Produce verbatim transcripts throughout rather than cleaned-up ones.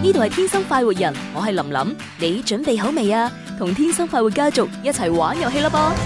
呢度係天生快活人，我係林林，你準備好未啊？同天生快活家族一齊玩遊戲啦噃！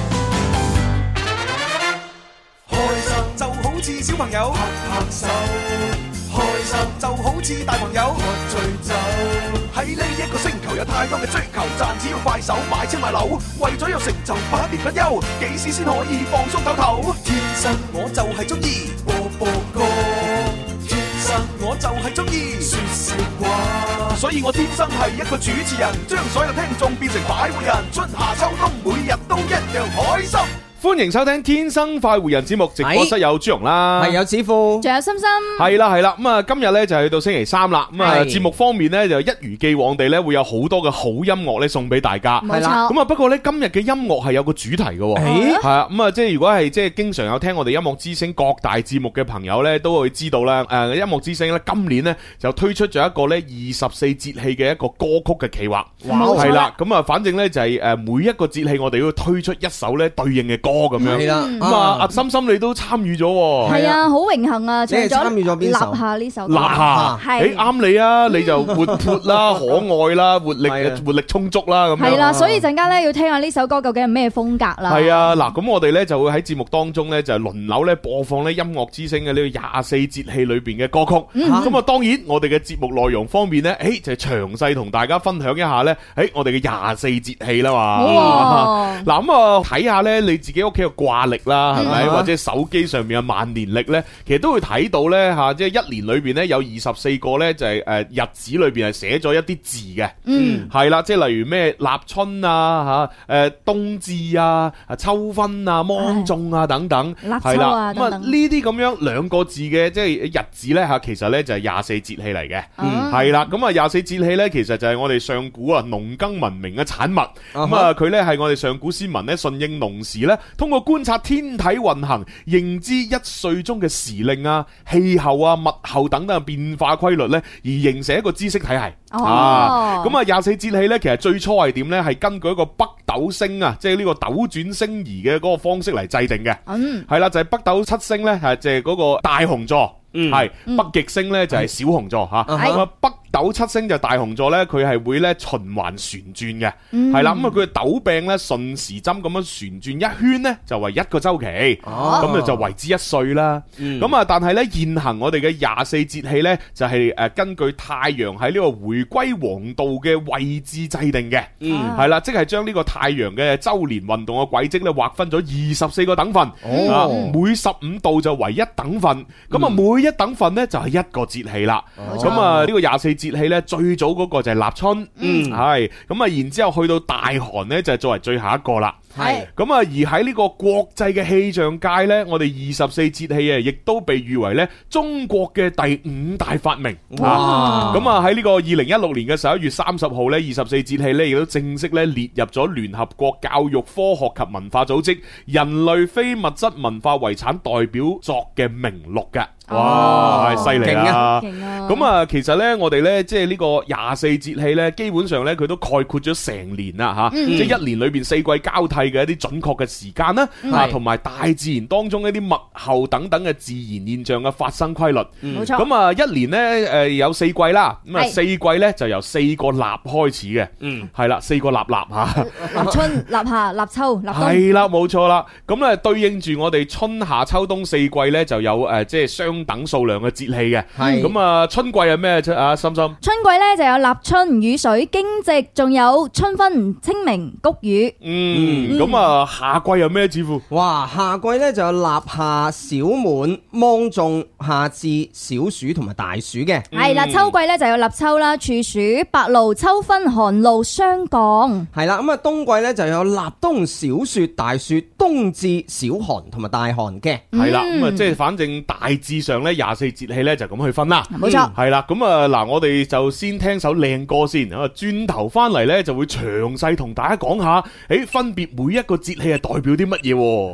開心就好似小朋友拍拍手，開心就好似大朋友喝醉酒。喺呢一個星球有太多嘅追求，賺錢要快手買車買樓，為咗有成就不眠不休，幾時先可以放鬆唞唞？天生我就係中意播播歌，天生我就係中意說笑話，所以我天生係一個主持人，將所有聽眾變成快活人，春夏秋冬每日都一樣開心。 歡迎收聽《天生快活人》節目，直播室有朱容啦， 係有子富， 仲有心心， 係啦係啦。咁啊，今日咧就去到星期三啦。咁啊，節目方面咧就一如既往地咧會有好多嘅好音樂咧送俾大家。 冇錯。 咁啊，不過咧今日嘅音樂係有個主題嘅。係啊。咁啊，即係如果係即係經常有聽我哋音樂之聲各大節目嘅朋友咧，都會知道啦。誒，音樂之聲咧今年咧就推出咗一個咧二十四節氣嘅一個歌曲嘅企劃。 冇錯。 係啦。咁啊，反正咧就係誒每一個節氣我哋要推出一首咧對應嘅歌咁樣。 係啦。 咁啊，阿心心你都參與咗喎。 係啊，好榮幸啊！ 你係參與咗邊首？ 立夏呢首。 立夏，誒啱你啊！你就活潑啦、可愛啦、活力活力充足啦咁樣。 係啦，所以陣間咧要聽下呢首歌究竟係咩風格啦。 係啊，嗱，咁我哋咧就會喺節目當中咧就輪流咧播放咧音樂之聲嘅呢個廿四節氣裏邊嘅歌曲。咁啊，當然我哋嘅節目內容方面咧，誒就詳細同大家分享一下咧，誒我哋嘅廿四節氣啦嘛。嗱咁啊，睇下咧你自己屋企嘅掛曆啦，係咪？或者手機上面嘅萬年曆咧，其實都會睇到咧吓，即係一年裏邊咧有二十四個咧就係誒日子裏邊係寫咗一啲字嘅，嗯，係啦，即係例如咩立春啊吓，誒冬至啊、秋分啊、芒種啊等等，係啦，咁啊呢啲咁樣兩個字嘅即係日子咧吓，其實咧就係廿四節氣嚟嘅，係啦，咁啊廿四節氣咧其實就係我哋上古啊農耕文明嘅產物，咁啊佢咧係我哋上古先民咧順應農時咧，通過觀察天體運行，認知一歲中嘅時令啊、氣候啊、物候等等嘅變化規律咧，而形成一個知識體系。 哦， 啊，咁啊廿四節氣咧，其實最初係點咧？係根據一個北斗星啊，即係呢個斗轉星移嘅嗰個方式嚟制定嘅。嗯，係啦，就係北斗七星咧，係即係嗰個大熊座。嗯，係北極星咧就係小熊座吓。咁啊北斗七星就大熊座咧，佢係會咧循環旋轉嘅。係啦，咁啊佢嘅斗柄咧順時針咁樣旋轉一圈咧，就為一個周期。哦，咁啊就為之一歲啦。咁啊，但係咧現行我哋嘅廿四節氣咧，就係誒根據太陽喺呢個回歸黃道嘅位置制定嘅。嗯，係啦，即係將呢個太陽嘅周年運動嘅軌跡咧劃分咗二十四個等份。哦，每十五度就為一等份。咁啊每一等份咧就係一個節氣啦。咁啊呢個廿四節氣咧最早嗰個就係立春。嗯，係咁啊然之後去到大寒咧就係作為最後一個啦。係咁啊而喺呢個國際嘅氣象界咧，我哋二十四節氣啊亦都被譽為咧中國嘅第五大發明。哇！咁啊喺呢個二零一六年嘅十一月三十號咧，二十四節氣咧亦都正式咧列入咗聯合國教育科學及文化組織人類非物質文化遺產代表作嘅名錄嘅。哇，犀利啊！咁啊，其實咧，我哋咧，即係呢個廿四節氣咧，基本上咧，佢都概括咗成年啦，吓，即係一年裏邊四季交替嘅一啲準確嘅時間啦，啊，同埋大自然當中一啲物候等等嘅自然現象嘅發生規律。冇錯。咁啊，一年咧，誒，有四季啦，咁啊，四季咧就由四個立開始嘅，嗯，係啦，四個立立吓， 立春、立夏、立秋、立冬。 係啦，冇錯啦。咁咧對應住我哋春夏秋冬四季咧，就有誒，即係相等數量嘅節氣嘅。係咁啊，春季係咩啫？啊，心心。春季咧就有立春、雨水、驚蟄，仲有春分、清明、谷雨。 嗯，咁啊，夏季有咩節乎？ 哇，夏季咧就有立夏、小滿、芒種、夏至、小暑同埋大暑嘅。 係啦，秋季咧就有立秋啦、處暑、白露、秋分、寒露、霜降。 係啦，咁啊，冬季咧就有立冬、小雪、大雪、冬至、小寒同埋大寒嘅。 係啦，咁啊，即係反正大致上咧廿四節氣咧就咁去分啦。 冇錯。 係啦，咁啊嗱，我哋就先聽首靚歌先，啊，轉頭翻嚟咧就會詳細同大家講下，誒，分別每一個節氣係代表啲乜嘢。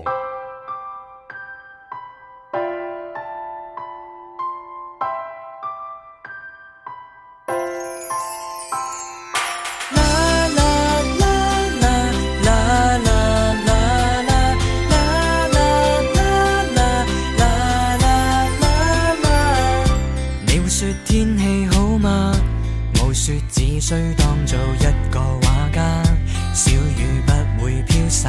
須當做一個畫家，小雨不會飄散。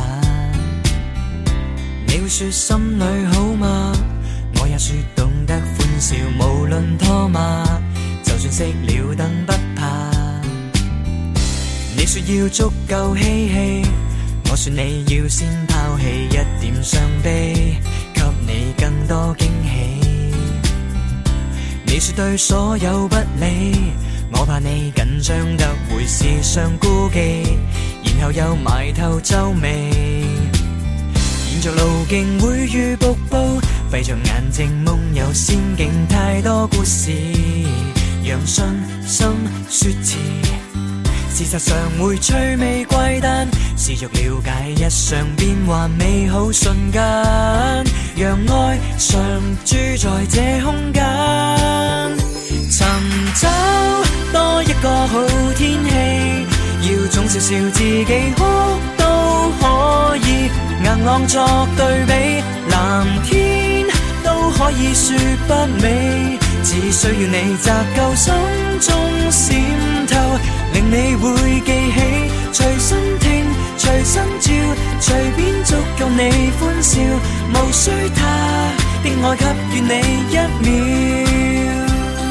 你會說心裏好嗎？我也說懂得歡笑，無論拖馬，就算熄了燈不怕。你說要足夠嬉戲，我說你要先拋棄一點傷悲，給你更多驚喜。你說對所有不理，我怕你緊張得會時常顧忌，然後又埋頭皺眉。沿着路徑會遇瀑布，閉着眼睛夢遊仙境，太多故事讓信心說詞。事實上會趣味怪誕，試着了解日常變幻美好瞬間，讓愛常駐在這空間。尋找多一個好天氣，要總笑笑自己哭都可以，硬朗作對比，藍天都可以說不美，只需要你擇夠心中閃透，令你會記起，隨身聽隨身照，隨便足夠你歡笑，無需他的愛給予你一秒。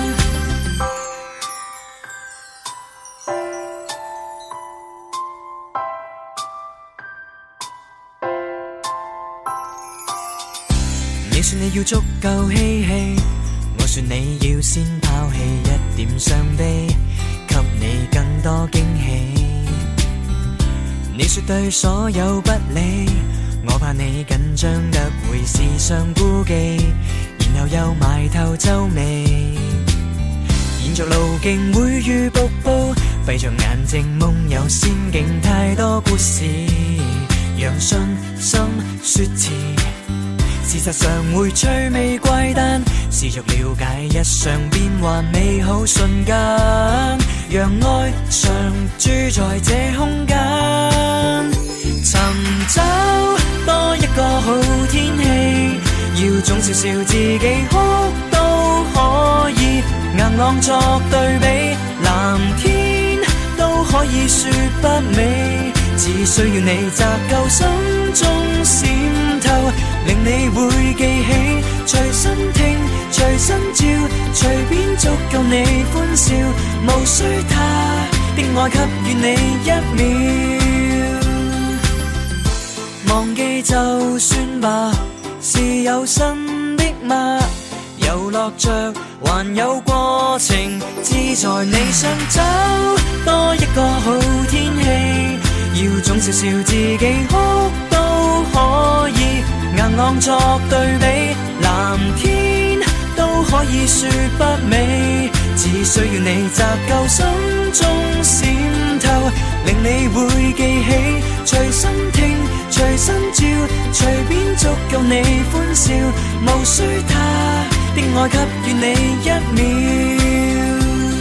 你說你要足夠嬉戲，我說你要先拋棄一點傷悲，給你更多驚喜。你說對所有不理，我怕你緊張得會時常顧忌，然後又埋頭皺眉。沿着路徑會遇瀑布，閉着眼睛夢遊仙境，太多故事讓信心說詞。事實上會趣味怪誕，試着了解日常變幻美好瞬間，讓愛常駐在這空間。尋找多一個好天氣，要總笑笑自己哭都可以，硬朗作對比，藍天都可以說不美，只需要你擇夠心中閃透，令你會記起，隨身聽隨身照，隨便足夠你歡笑，無需他的愛給予你一秒。忘記就算吧，是有新的嗎？遊樂着還有過程，志在你想找多一個好天氣，要總笑笑自己哭都可以，硬朗作對比，藍天都可以說不美，只需要你擇夠心中閃透，令你會記起，隨身聽隨身照，隨便足夠你歡笑，無需他的愛給予你一秒。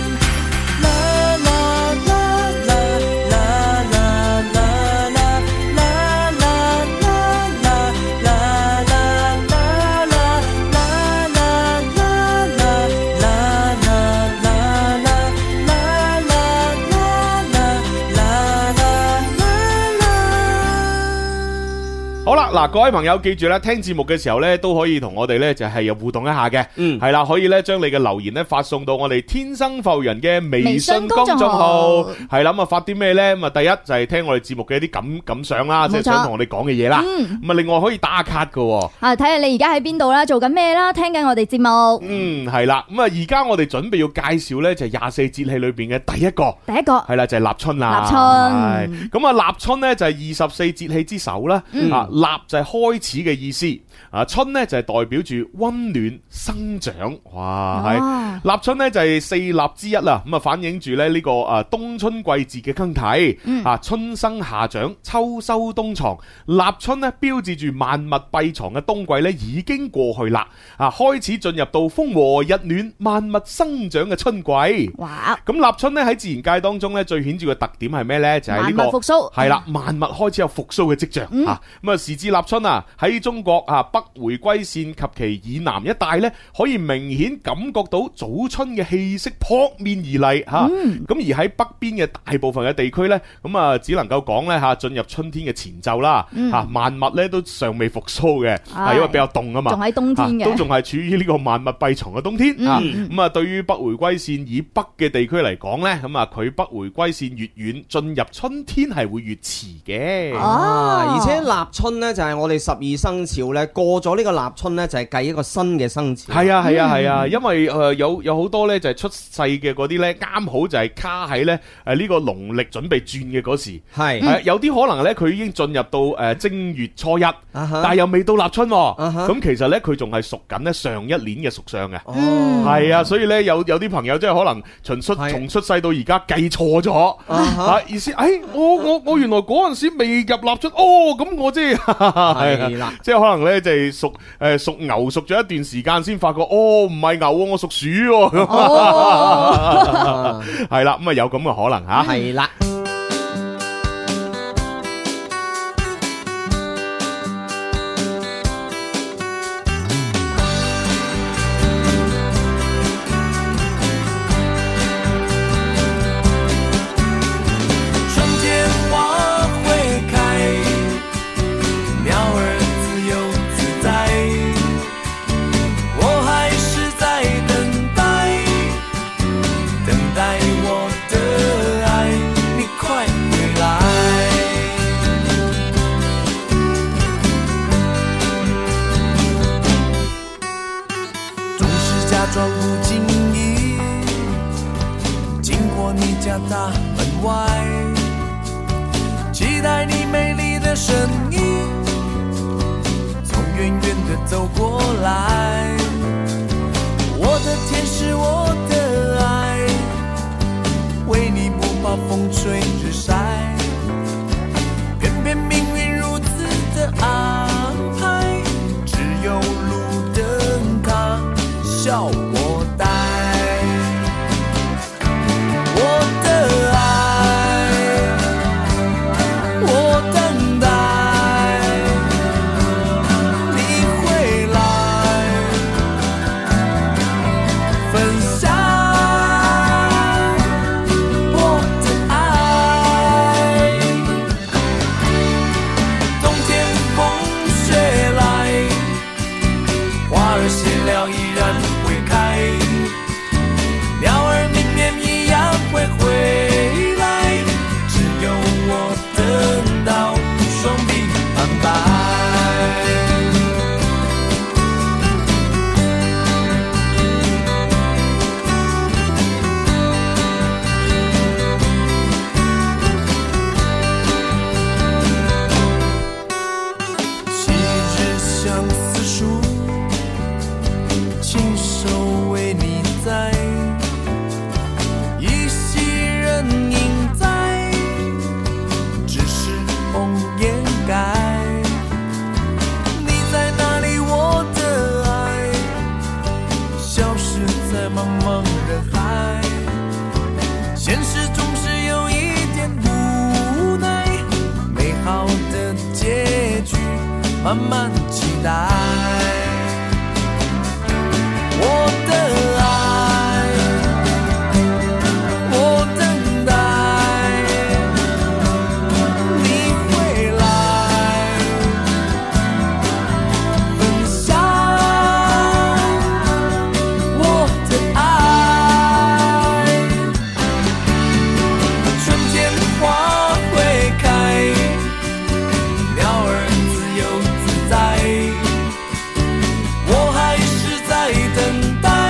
好啦，嗱，各位朋友記住咧，聽節目嘅時候咧，都可以同我哋咧就係有互動一下嘅，嗯，係啦，可以咧將你嘅留言咧發送到我哋天生浮人嘅微信公眾號，係啦，咁啊發啲咩咧？咁啊第一就係聽我哋節目嘅一啲感感想啦，即係想同我哋講嘅嘢啦，咁啊另外可以打卡㗎， 啊睇下你而家喺邊度啦，做緊咩啦，聽緊我哋節目， 嗯係啦，咁啊而家我哋準備要介紹咧就係廿四節氣裏邊嘅第一個， 第一個係啦就係立春啦， 立春， 咁啊立春咧就係二十四節氣之首啦，啊。立就係開始嘅意思，啊春呢就係代表住溫暖生長，哇係、啊、立春呢就係四立之一啦，咁啊反映住咧呢個啊冬春季節嘅更替，嗯、啊春生夏長，秋收冬藏，立春呢標誌住萬物閉藏嘅冬季咧已經過去啦，啊開始進入到風和日暖、萬物生長嘅春季。哇！咁立春呢喺自然界當中咧最顯著嘅特點係咩呢？就係、是、呢、這個萬物復甦， 係啦，萬物開始有復甦嘅跡象，嗯、啊咁啊時至立春啊，喺中國啊北回歸線及其以南一帶呢，可以明顯感覺到早春嘅氣息撲面而嚟嚇。咁、嗯、而喺北邊嘅大部分嘅地區呢，咁啊只能夠講呢，嚇進入春天嘅前奏啦嚇、嗯啊，萬物呢都尚未復甦嘅，係、哎、因為比較凍啊嘛， 仲喺冬天嘅、啊， 都仲係處於呢個萬物閉藏嘅冬天、嗯、啊。咁啊，對於北回歸線以北嘅地區嚟講呢，咁啊佢北回歸線越遠，進入春天係會越遲嘅。 啊，而且立春呢，就係我哋十二生肖呢，過咗呢個立春呢，就係計一個新嘅生肖。 係啊係啊係啊，啊，因為誒有有好多呢，就係出世嘅嗰啲呢，啱好就係卡喺呢誒呢個農曆準備轉嘅嗰時。係、嗯，有啲可能呢，佢已經進入到誒正月初一，啊、但係又未到立春。咁、啊、其實呢，佢仲係屬緊呢上一年嘅屬相嘅。哦，係啊，所以呢，有有啲朋友即係可能從出從出世到而家計錯咗啊，意思誒我我我原來嗰陣時未入立春，哦咁我即係係啦，即係可能呢，就係屬誒屬牛屬咗一段時間先發覺，哦唔係牛，我屬鼠喎，係啦，咁啊有咁嘅可能吓，係啦。 装不经意经过你家大门外，期待你美丽的身影从远远的走过来，我的天使我的爱，为你不怕风吹日晒，偏偏命运如此的安排，只有路灯它笑我呆，我的爱，我等待你回来，分享我的爱。冬天风雪来，花儿谢了依然会开，鸟儿明年一样会回来，只有我等到双臂苍白。昔日相思树，亲手为你栽，依稀人影在，只是红颜改。你在哪里，我的爱，消失在茫茫人海。现实总是有一点无奈，美好的结局慢慢期待。我的爱，我等待你回来，分享我的爱。春天花会开，鸟儿自由自在，我还是在等待。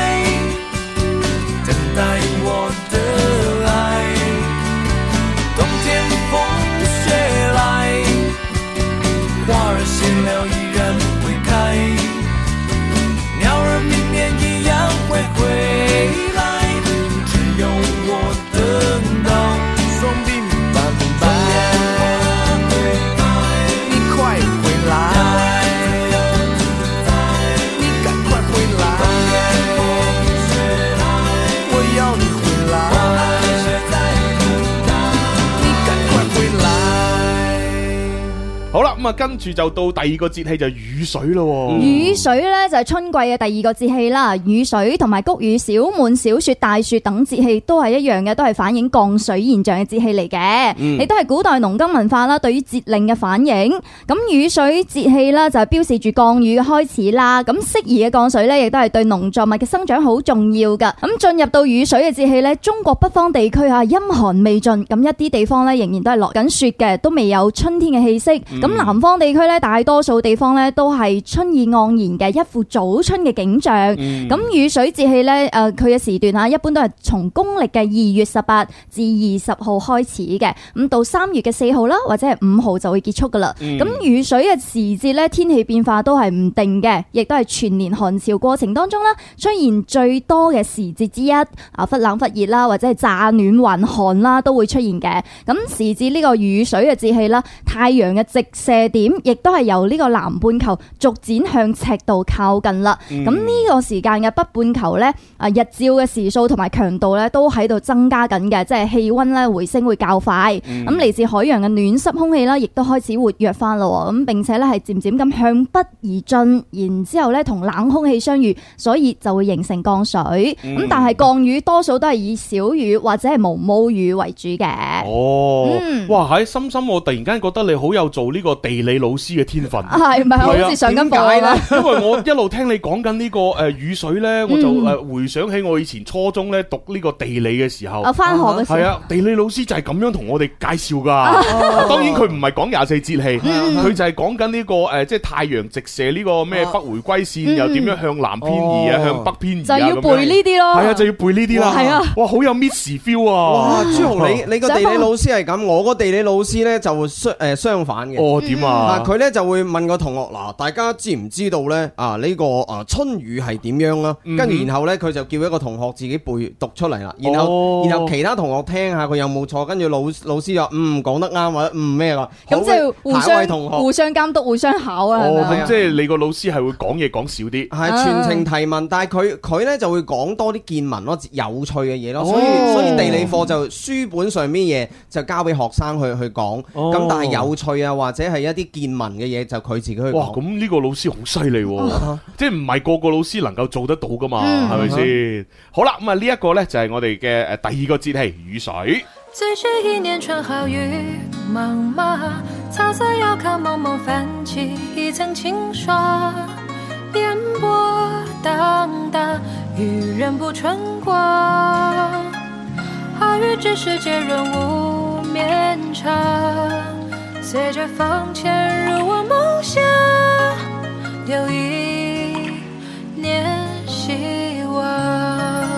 啦，咁啊跟住就到第二個節氣就雨水咯。 雨水咧就係春季嘅第二個節氣啦。雨水同埋谷雨、小滿、小雪、大雪等節氣都係一樣嘅，都係反映降水現象嘅節氣嚟嘅。亦都係古代農耕文化啦，對於節令嘅反應。咁雨水節氣啦，就係標示住降雨嘅開始啦。咁適宜嘅降水咧，亦都係對農作物嘅生長好重要噶。咁進入到雨水嘅節氣咧，中國北方地區啊，陰寒未盡，咁一啲地方咧仍然都係落緊雪嘅，都未有春天嘅氣息。咁、嗯、南方地區咧，大多數地方咧都係春意盎然嘅一副早春嘅景象。咁、嗯、雨水節氣咧，誒佢嘅時段啊，一般都係從公曆嘅二月十八至二十號開始嘅，咁到三月嘅四號啦，或者係五號就會結束噶啦。咁、嗯、雨水嘅時節咧，天氣變化都係唔定嘅，亦都係全年寒潮過程當中啦，出現最多嘅時節之一。啊，忽冷忽熱啦，或者係乍暖還寒啦，都會出現嘅。咁時節呢個雨水嘅節氣啦，太陽嘅直射點亦都係由呢個南半球逐漸向赤道靠近啦。咁呢、嗯、個時間嘅北半球咧，啊日照嘅時數同埋強度咧都喺度增加緊嘅，即係氣溫咧回升會較快。咁嚟、嗯、自海洋嘅暖濕空氣啦，亦都開始活躍翻咯。咁並且咧係漸漸咁向北而進，然之後咧同冷空氣相遇，所以就會形成降水。咁、嗯、但係降雨多數都係以小雨或者係毛毛雨為主嘅。 哦， 嗯、 哇！喺深深，我突然間覺得你好有做呢個地理老師嘅天分。 係咪好似上緊課啦？ 因為我一路聽你講緊呢個誒雨水咧，我就誒回想起我以前初中咧讀呢個地理嘅時候。 啊，翻學嘅時候。係啊，地理老師就係咁樣同我哋介紹噶。當然佢唔係講廿四節氣，佢就係講緊呢個誒，即係太陽直射呢個咩北回歸線，又點樣向南偏移啊，向北偏移啊， 就要背呢啲咯。 係啊，就要背呢啲啦。係啊，哇，好有 Miss feel 啊！ 哇，朱紅，你你個地理老師係咁，我個地理老師咧就相誒相反嘅。 哦，點啊？ 嗱，佢咧就會問個同學，嗱，大家知唔知道咧？啊，呢個啊春雨係點樣啦？跟住然後咧，佢就叫一個同學自己背讀出嚟啦。然後然後其他同學聽下佢有冇錯，跟住老老師話嗯講得啱或者嗯咩啦。 咁即係互相互相監督、互相考啊。 哦，咁即係你個老師係會講嘢講少啲， 係全程提問，但係佢佢咧就會講多啲見聞咯，有趣嘅嘢咯。所以所以地理課就書本上面嘢就交俾學生去去講，咁但係有趣啊或者係一啲見聞嘅嘢就佢自己去講。 哇，咁呢個老師好犀利喎，即係唔係個個老師能夠做得到噶嘛，係咪先？好啦，咁啊呢一個咧就係我哋嘅誒第二個節氣雨水。 最是一年春好雨茫茫，草色遙看蒙蒙泛起一層清霜，煙波蕩蕩，雨人不春光。好雨知世界润物綿長，隨着風潛入我夢鄉，有一年希望。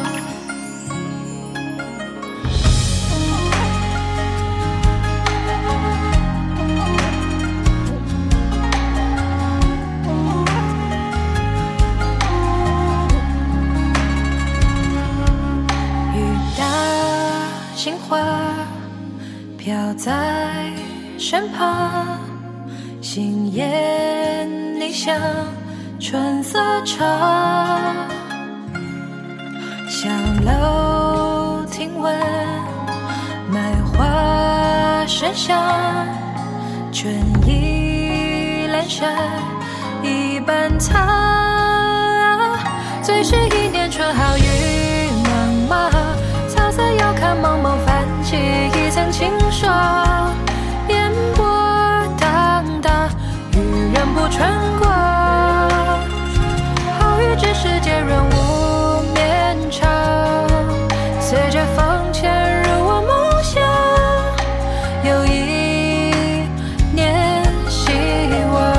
杏花飄在身旁，心眼你像春色長，上樓聽聞賣花生香，春意闌珊一般藏，最是一年春好雨茫茫，草色遙看蒙蒙泛起一層清霜，煙波蕩蕩，雨人不春光。好雨知世界潤物綿長，隨着風潛入我夢鄉，有一年希望。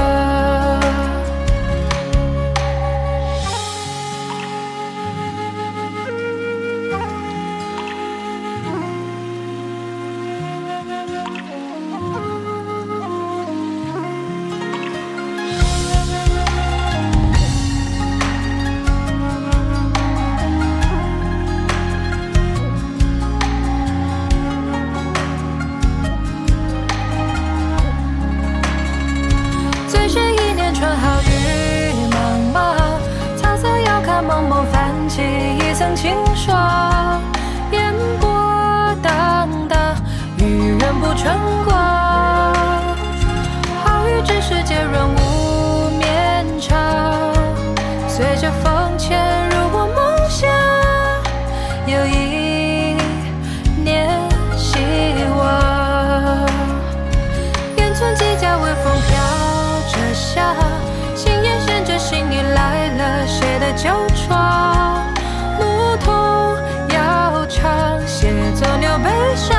挽留悲傷。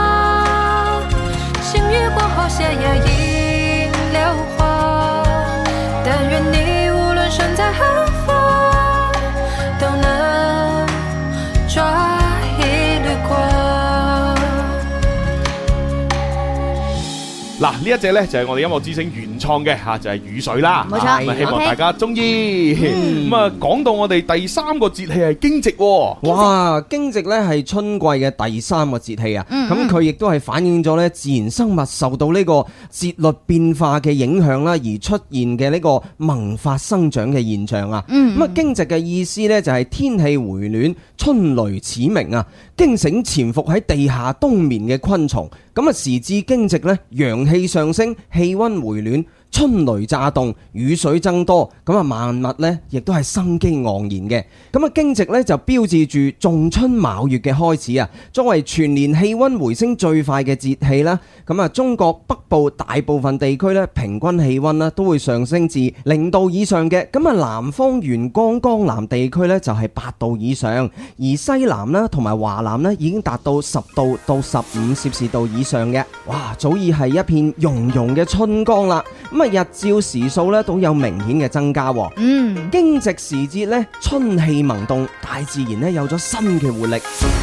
星雨過後，斜陽映流花。但願你無論身在何方，都能抓一縷光。 嗱，呢一隻呢就係我哋音樂之聲原創嘅吓，就係雨水啦。 冇錯， 咁啊希望大家中意。咁啊，講到我哋第三個節氣係驚蟄喎。 哇！驚蟄咧係春季嘅第三個節氣啊，咁佢亦都係反映咗咧自然生物受到呢個節律變化嘅影響啦，而出現嘅呢個萌發生長嘅現象啊。咁啊，驚蟄嘅意思咧就係天氣回暖，春雷始鳴啊，驚醒潛伏喺地下冬眠嘅昆蟲。咁啊，時至驚蟄咧，陽氣上升，氣溫回暖，春雷乍動，雨水增多，咁啊萬物咧亦都係生機盎然嘅。咁啊驚蟄咧就標誌住仲春卯月嘅開始啊！作為全年氣溫回升最快嘅節氣啦，咁啊中國北部大部分地區咧平均氣溫啦都會上升至零度以上嘅。咁啊南方沿江江南地區咧就係八度以上，而西南啦同埋華南咧已經達到十度到十五攝氏度以上嘅。哇！早已係一片融融嘅春光啦。咁啊日照時數咧都有明顯嘅增加。嗯，驚蟄時節咧，春氣萌動，大自然咧有咗新嘅活力。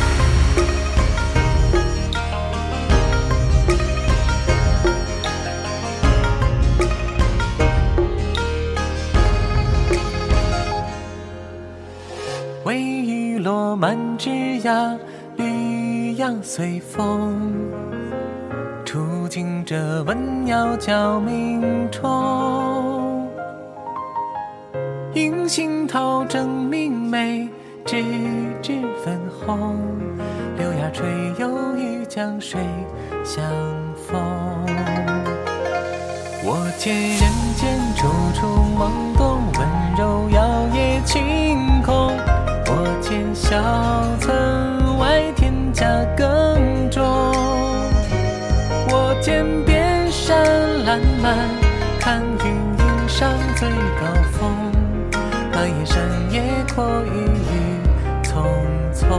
微雨落满枝桠，绿杨随风，触景者闻鸟叫鸣虫。映杏桃正明媚，枝枝粉红，柳芽垂又与江水相逢。我见人间处处懵懂，温柔摇曳晴空。我见小村外田家耕种，我见遍山烂漫，看云云上最高峰。那夜深夜阔，雨雨匆匆。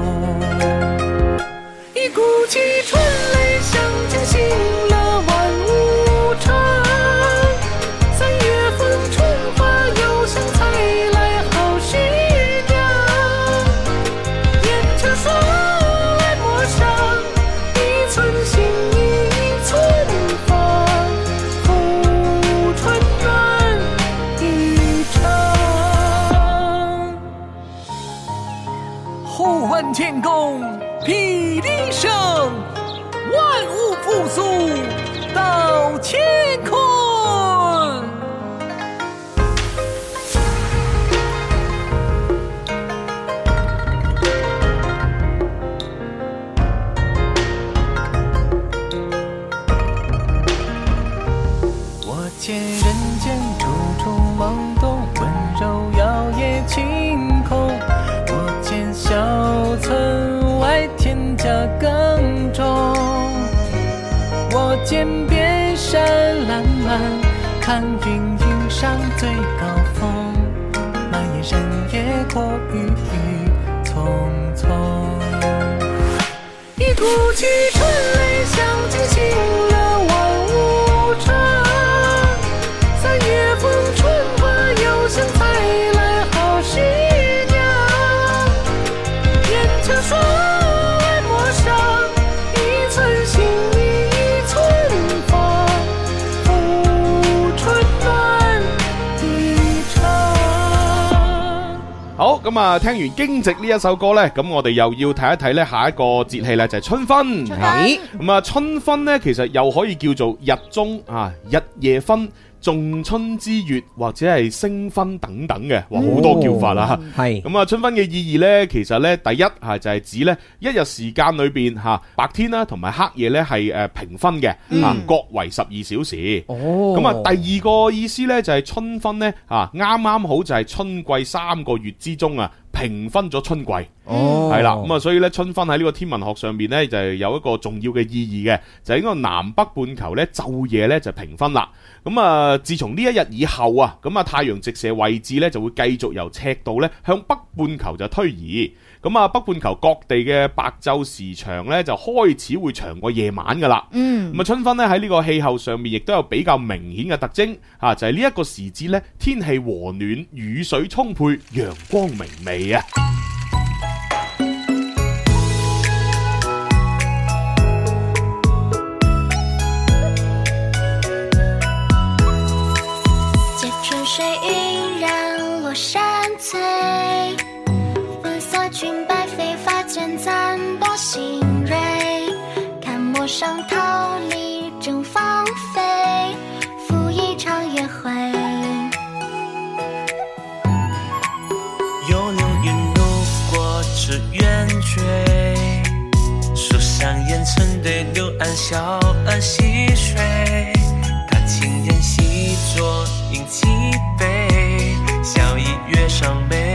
一股气春雷响，惊醒了万物城。三月份春花又香，采来好徐娘。眼前霜来陌上，一寸心意一寸芳。富春暖一场。后唤天公霹雳声，万物复苏到乾坤。我见人间处处懵懂，温柔摇曳晴空。我见小村外田家耕种，我见遍山烂漫，看云云上最高峰。那夜深夜阔，雨雨匆匆。一股气春雷响，惊醒了万物城。三月份春花又香，采来好徐娘。眼前霜来陌上，一寸心意一寸芳。富春暖一场。 好，咁啊，聽完驚蟄呢一首歌呢，咁我哋又要睇一睇呢下一個節氣呢，就係春分。係咁啊，春分呢，其實又可以叫做日中啊，日夜分。仲春之月或者係星分等等嘅，哇，好多叫法啦。係咁啊，春分嘅意義呢，其實呢，第一嚇就係指呢一日時間裏邊嚇白天啦同埋黑夜呢係誒平分嘅，嚇各為十二小時。哦，咁啊，第二個意思呢，就係春分呢，嚇啱啱好就係春季三個月之中啊。平分咗春季，係啦，咁啊，所以咧春分喺呢個天文學上邊咧就係有一個重要嘅意義嘅，就係呢個南北半球咧晝夜咧就平分啦。咁啊，自從呢一日以後啊，咁啊太陽直射位置咧就會繼續由赤道咧向北半球就推移。 咁啊北半球各地嘅白晝時長咧就開始會長過夜晚噶啦。 嗯， 咁啊春分咧喺呢個氣候上面亦都有比較明顯嘅特徵啊，就係呢一個時節咧天氣和暖，雨水充沛，陽光明媚啊。 水晕染落山翠，粉色裙摆飞发间暂多新蕊，看陌上桃李正芳菲，赴一场约会。 有流云路过这圆锥，树上烟尘对柳岸小儿戏水，他情人细酌饮几杯，笑意月上眉。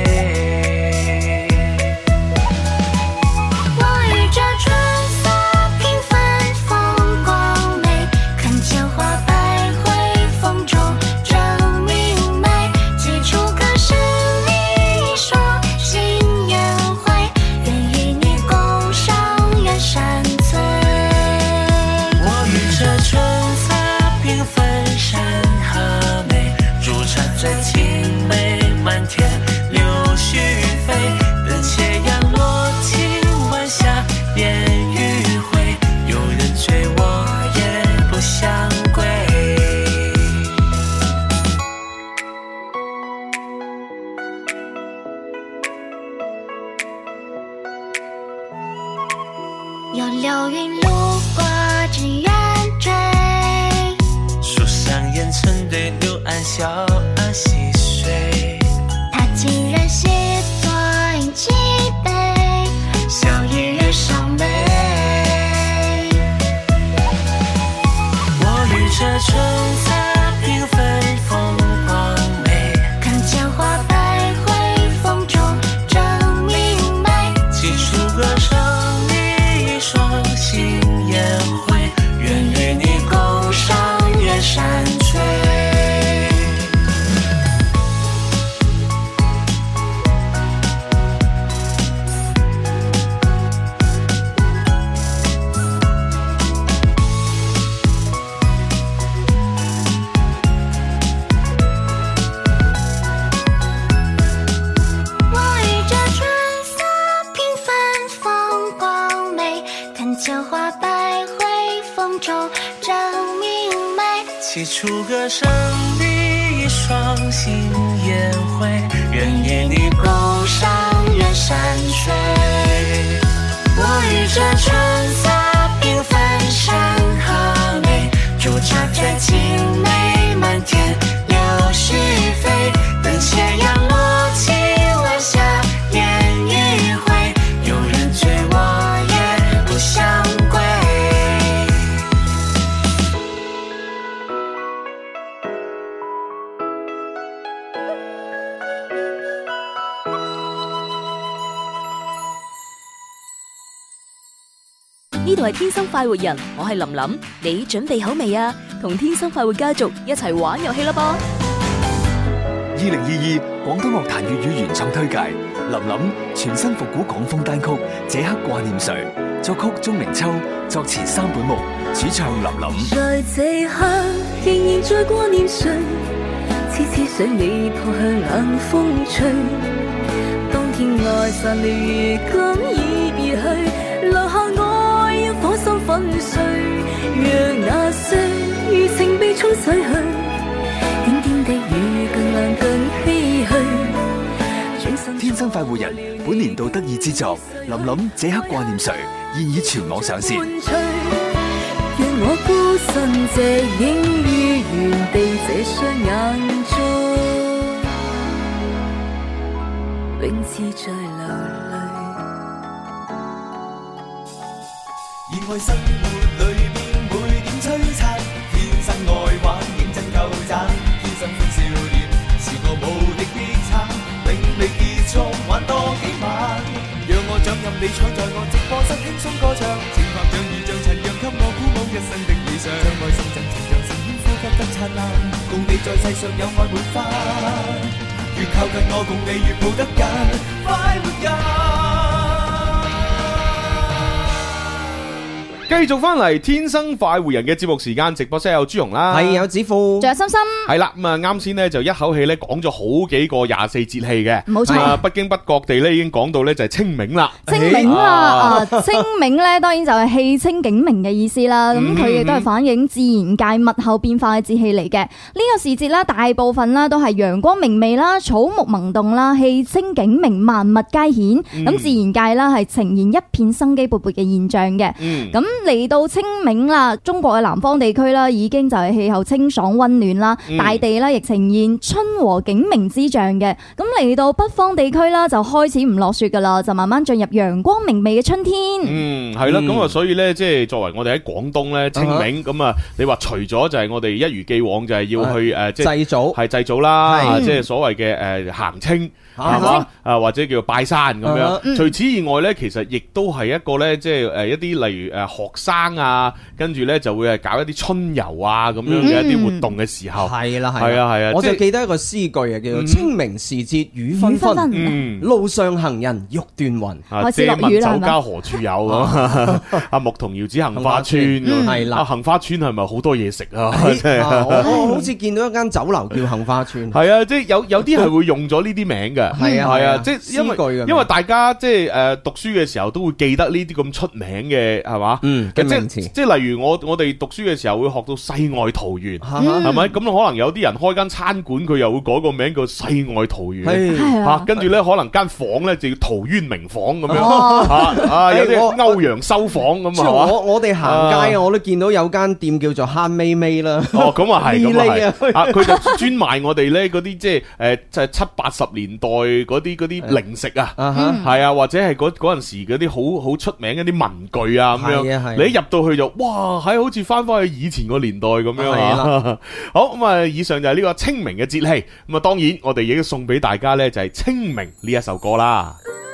我与这春色缤纷风光美，看千花百卉风中正明媚，几处可是你一双心宴会，愿与你共赏远山翠。 我与这春色缤纷山河美，煮茶醉青梅，漫天柳絮飞，等斜阳落尽晚霞便迂回，有人追我也不相归。 有流云路过这圆锥， 树上烟尘对柳岸小儿戏水， 他情人细坐饮几杯，笑意月上眉。 我与这春色缤纷风光美， 看千花百卉风中正明媚， 几处歌声你一双心宴会，愿与你共赏远山吹。 我与这春色缤纷风光美，看千花百卉风中正明媚， 起初歌声你一双心宴会，愿与你共赏远山水。我与这春色缤纷山河美，煮茶醉青梅，漫天柳絮飞，等斜阳落尽晚霞便迂回，有人追我也不相归。 呢度係天生快活人，我係林林，你準備好未啊？同天生快活家族一齊玩遊戲啦噃！ 二零二二廣東樂壇粵語原創推介，林林全新復古港風單曲《這刻掛念誰》，作曲鍾明秋，作詞三本木，主唱林林。 在這刻仍然在掛念誰，痴痴想你撲向冷風吹。當天愛散了，如今已別去，留下愛要火心粉碎，讓那些餘情被沖洗去。點點的雨更亮更唏噓。 天生快活人本年度得意之作《林林這刻掛念誰》現已全網上線。 讓我孤身借影於原地，這雙眼中永似在流淚。 熱愛生活裏面每點璀璨，天生愛玩認真夠讚，天生歡笑臉是個無敵必撐，永未結束玩多幾晚，讓我掌任你搶在我直播室輕鬆歌唱，情拍像雨像塵讓給我鼓舞一生的理想，將愛心贈情讓聲音呼吸得燦爛，共你在世上有愛滿花，越靠近我共你越抱得緊，快活人。 繼續翻嚟天生快活人嘅節目時間，直播室有朱紅啦， 係有子富， 仲有心心， 係啦。咁啊，啱先咧就一口氣咧講咗好幾個廿四節氣嘅， 冇錯。 啊，不經不覺地咧已經講到咧就係清明啦。 清明啦，啊，清明咧當然就係氣清景明嘅意思啦。咁佢亦都係反映自然界物候變化嘅節氣嚟嘅。呢個時節啦，大部分啦都係陽光明媚啦，草木萌動啦，氣清景明，萬物皆顯。咁自然界啦係呈現一片生機勃勃嘅現象嘅。咁嚟到清明啦，中國嘅南方地區啦，已經就係氣候清爽溫暖啦，嗯、大地啦亦呈現春和景明之象嘅。咁嚟到北方地區啦，就開始唔落雪噶啦，就慢慢進入陽光明媚嘅春天。嗯， 係啦，咁啊、嗯，所以咧，即係作為我哋喺廣東咧，清明咁啊，你話除咗就係我哋一如既往就係要去誒，即係祭祖，係祭祖啦，即係所謂嘅誒行清。係嘛？啊，或者叫做拜山咁樣。嗯、除此以外咧，其實亦都係一個咧，即係誒一啲例如誒學生啊，跟住咧就會係搞一啲春遊啊咁樣嘅一啲活動嘅時候。係啦、嗯，係啊，係啊。我就記得一個詩句啊，叫做清明時節雨紛紛，嗯、路上行人欲斷魂。啊，借問酒家何處有？阿牧童遙指杏花村。係啦，杏花村係咪好多嘢食啊？我好似見到一間酒樓叫杏花村。係啊，即係有有啲係會用咗呢啲名嘅。係啊係啊，即係因為因為大家即係誒讀書嘅時候都會記得呢啲咁出名嘅係嘛，嗯嘅名詞，即係例如我我哋讀書嘅時候會學到世外桃源，係咪？咁可能有啲人開間餐館，佢又會改個名叫世外桃源，吓，跟住咧可能間房咧就叫陶淵明房咁樣，吓啊有啲歐陽修房咁啊。我我哋行街啊，我都見到有間店叫做慳咪咪啦。哦，咁啊係，咁啊係，啊佢就專賣我哋咧嗰啲即係誒就係七八十年代。嗰啲嗰啲零食啊，係啊，或者係嗰嗰陣時嗰啲好好出名嗰啲文具啊咁樣，你一入到去就哇，係好似翻翻去以前個年代咁樣啊！好咁啊，以上就係呢個清明嘅節氣，咁啊，當然我哋已經送俾大家咧就係清明呢一首歌啦。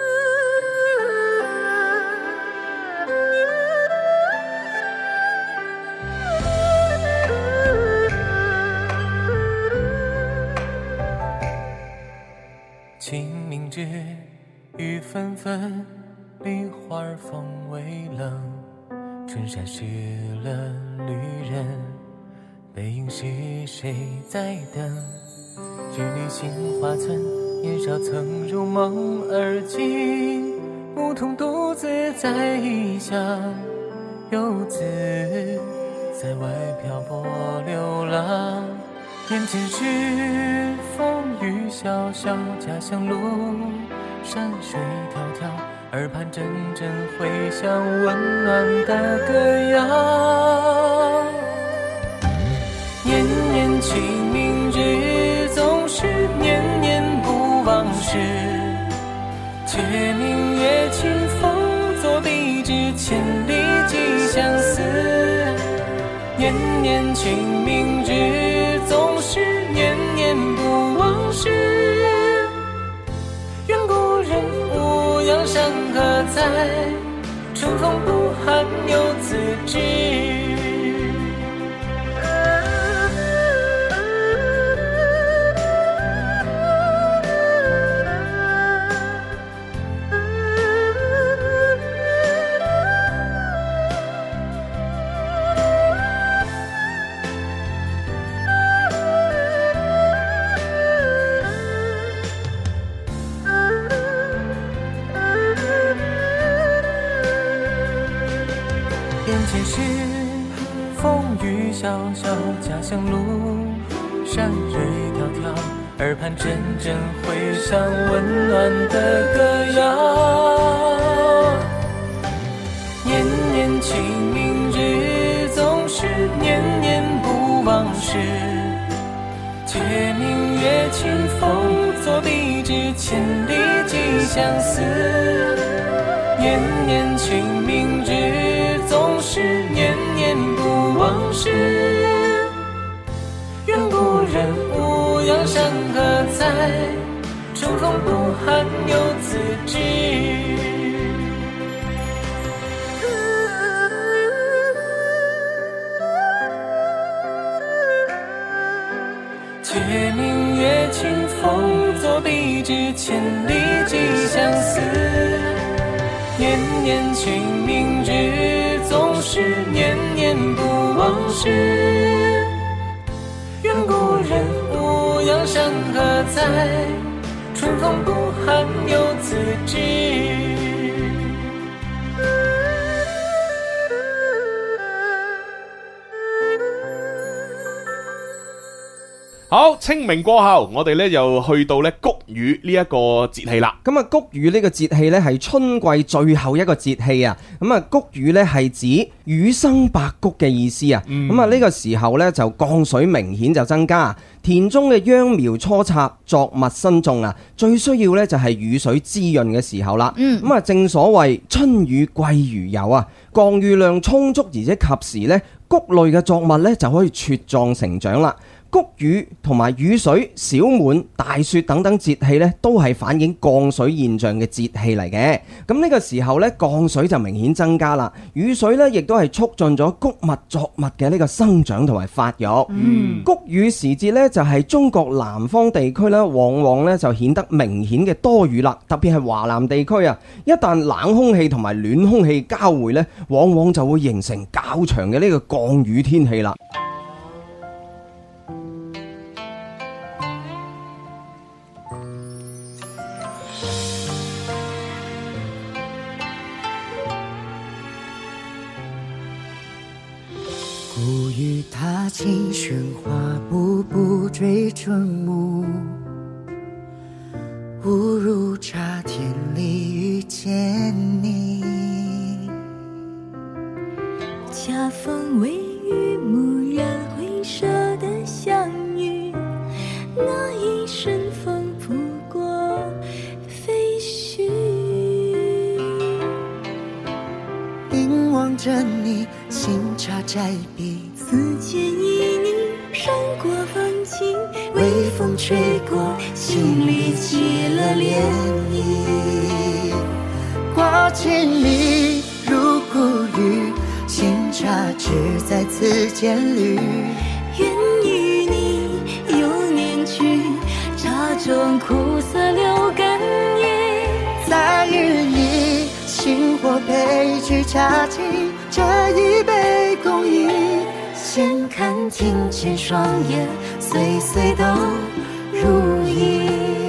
清明节雨纷纷，梨花风微冷，春山湿了旅人，背影是谁在等？距离杏花村，年少曾如梦而今，牧童独自在异乡，游子在外漂泊流浪。眼前是风雨潇潇，家乡路，山水迢迢，耳畔阵阵回响温暖的歌谣。年年清明日，总是年年不忘事，却明月清风作笔至，千里寄相思。年年清明日，总是年年不忘事，愿故人无恙山河在，春风不寒游自知。小小家乡路，山水迢迢，耳畔阵阵回响温暖的歌谣。年年清明日，总是年年不忘事，却明月清风作笔至，千里寄相思。年年清明日，总是年年不忘事，愿故人无恙山河在，春风不寒游自知。却明月清风作笔至，千里寄相思。年年清明日，总是念念不忘事。愿故人无恙山河在，春风不寒有自知。 好，清明過後，我哋咧又去到咧谷雨呢一個節氣啦。 咁啊，谷雨呢個節氣咧係春季最後一個節氣啊。咁啊，谷雨咧係指雨生百谷嘅意思啊。咁啊，呢個時候咧就降水明顯就增加，田中嘅秧苗初插，作物新種啊，最需要咧就係雨水滋潤嘅時候啦。咁啊，正所謂春雨貴如油啊，降雨量充足而且及時咧，谷類嘅作物咧就可以茁壯成長啦。谷雨同埋雨水、小滿、大雪等等節氣咧，都係反映降水現象嘅節氣嚟嘅。咁呢個時候咧，降水就明顯增加啦。雨水咧，亦都係促進咗谷物作物嘅呢個生長同埋發育。嗯，谷雨時節咧，就係中國南方地區咧，往往咧就顯得明顯嘅多雨啦。特別係華南地區啊，一旦冷空氣同埋暖空氣交匯咧，往往就會形成較長嘅呢個降雨天氣啦。 谷雨踏尽喧哗，步步追春暮。误入乍天里遇见你， 恰逢微雨，蓦然回首的相遇，那一瞬风拂过飞絮。 凝望着你，心茶摘笔， 此间旖旎闪过风景， 微风吹过，心里起了涟漪。挂牵你如谷雨，新茶只在此间绿。 愿与你又念去，茶中苦涩留根叶。 再与你星火配菊茶尽，这一杯共饮。闲看庭前霜叶，岁岁都如一。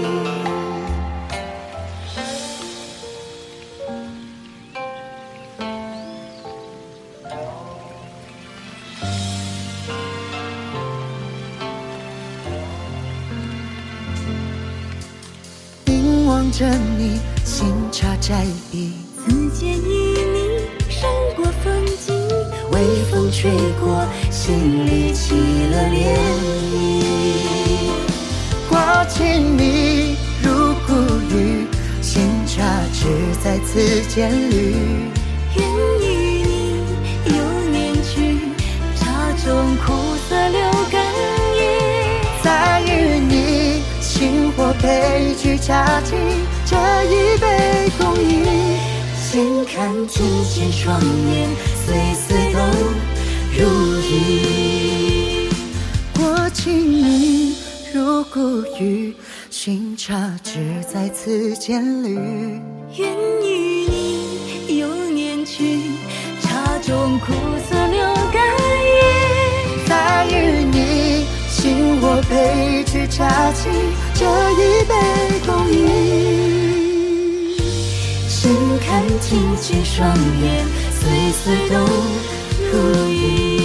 凝望着你，新茶摘笔， 此间旖旎闪过风景， 微风吹过，心里起了涟漪。挂牵你如谷雨，新茶只在此间绿。 愿与你又念去，茶中苦涩留根叶。 再与你星火配菊茶尽，这一杯共饮。闲看庭前霜叶，岁岁都如一。过尽你如谷雨，新茶只在此间绿。 愿与你又念去，茶中苦涩留根叶。 再与你星火配菊茶尽，这一杯共饮。闲看庭前霜叶，岁岁都如一。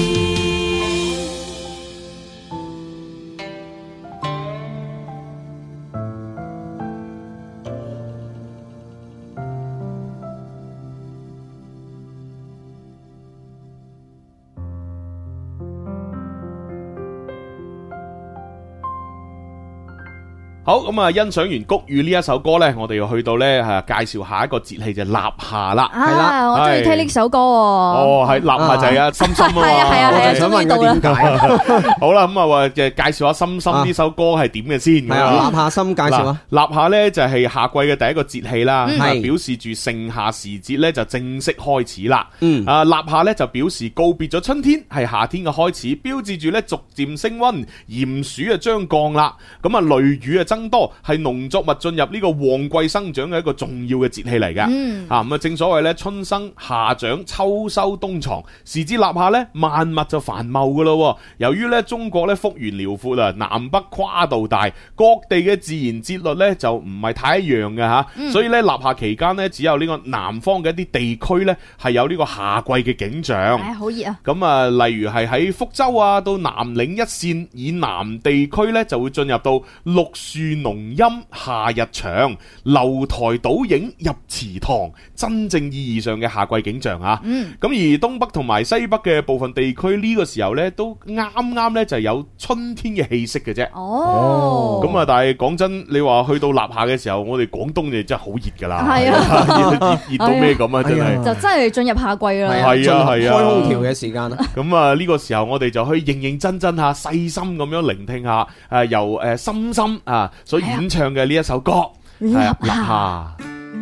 好咁啊！欣賞完谷雨呢一首歌呢，我哋要去到呢，係介紹下一個節氣就立夏啦。 係啦，我中意聽呢首歌。哦， 係立夏就係阿心心啊嘛。 係啊係啊， 我就想問佢點解。好啦，咁啊話介紹下心心呢首歌係點嘅先。 係啊，立夏心介紹啊。 立夏呢就係夏季嘅第一個節氣啦， 係表示住盛夏時節呢就正式開始啦。 嗯， 啊立夏呢就表示告別咗春天，係夏天嘅開始，標誌住呢逐漸升溫，炎暑啊將降啦。咁啊雷雨啊增增多，係農作物進入呢個旺季生長嘅一個重要嘅節氣嚟嘅。 嗯， 啊咁啊，正所謂咧春生夏長秋收冬藏，時至立夏咧萬物就繁茂噶咯。由於咧中國咧幅員遼闊啊，南北跨度大，各地嘅自然節律咧就唔係太一樣嘅吓， 嗯、 所以咧立夏期間咧只有呢個南方嘅一啲地區咧係有呢個夏季嘅景象。 唉，好熱啊！ 咁啊，例如係喺福州啊到南嶺一線以南地區咧就會進入到綠樹濃蔭夏日長，樓台倒影入池塘，真正意義上嘅夏季景象啊！咁、 嗯、 而東北同埋西北嘅部分地區呢個時候咧都啱啱咧就係有春天嘅氣息嘅啫。 哦， 咁啊，但係講真，你話去到立夏嘅時候，我哋廣東就真係好熱噶啦， 係啊， 熱到咩咁啊，真係就真係進入夏季啦， 係啊係啊， 開空調嘅時間啦。 咁啊呢個時候我哋就可以認認真真吓，細心咁樣聆聽下誒由誒深深啊所演唱嘅呢一首歌係啊立夏。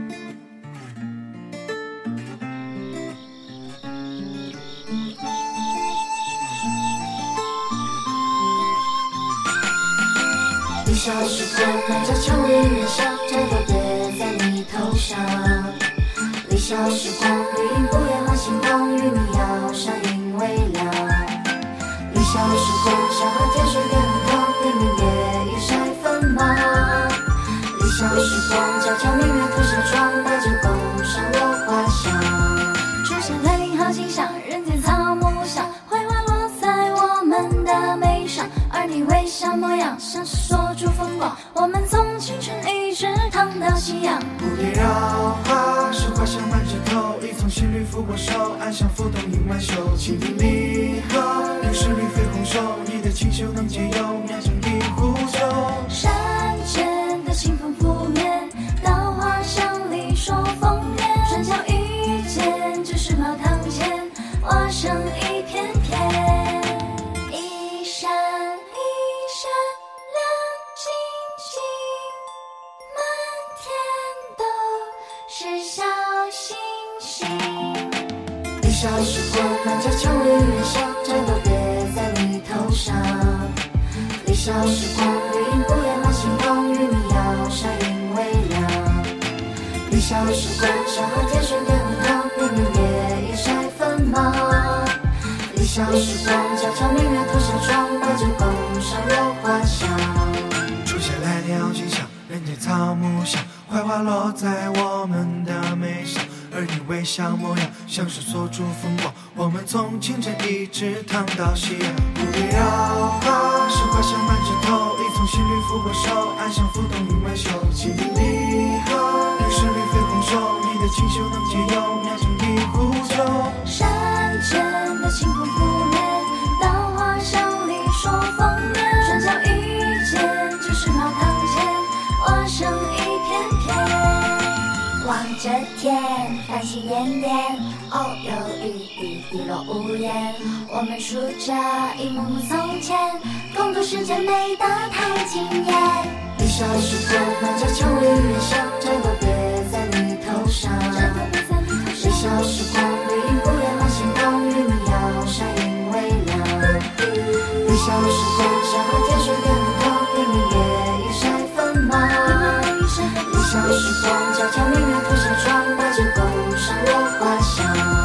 立夏时光漫着秋意人香，这都别在你头上。立夏时光绿荫不言花心动，与你遥相映微凉。立夏时光山河天水变不同，连绵夜雨晒锋芒。立夏时光皎皎明月吐纱窗，白纸宫上落花香。出现来临好景象，人间草木香，槐花落在我们的眉上，而你微笑模样像是锁住风光，我们从青春一直躺到夕阳。 蝴蝶绕花，是花香满枝头，一从新绿拂过手，暗香浮动映晚袖，清风离合，有十里飞红袖，你的清秀能解忧，酿成一壶酒。 山间的清风拂面，稻花香里说丰年，春宵一见，只是茅堂前，花香一片片，一闪一闪亮晶晶，满天都是小星星。立夏时光漫着秋意人香，这都别在你头上。立夏时光绿荫不言花心动，与你遥相映微凉。立夏时光山河天水变不同，连绵夜雨晒锋芒。立夏时光皎皎明月吐纱窗，白纸宫上落花香。 出现来年好景象，人间草木香，槐花落在我们的眉上，而你微笑模样像是锁住风光，我们从清晨一直躺到夕阳。蝴蝶绕花，是花香满枝头，一从新绿拂过手，暗香浮动映晚袖，清风离合，有十里飞红袖，你的清秀能解忧，酿成一壶酒。 山间的清风拂面，稻花香里说丰年，春宵一见，只是茅堂前，花香一片片。望着天，繁星点点，偶有雨滴滴落屋檐。我们数着一幕幕从前，共度时间美得太惊艳。立夏时光漫着秋意人香，这都别在你头上。立夏时光绿荫不言花心动，与你遥相映微凉。立夏时光山河天水变不同，连绵夜雨晒锋芒。立夏时光皎皎明月吐纱窗，白纸宫上落花香。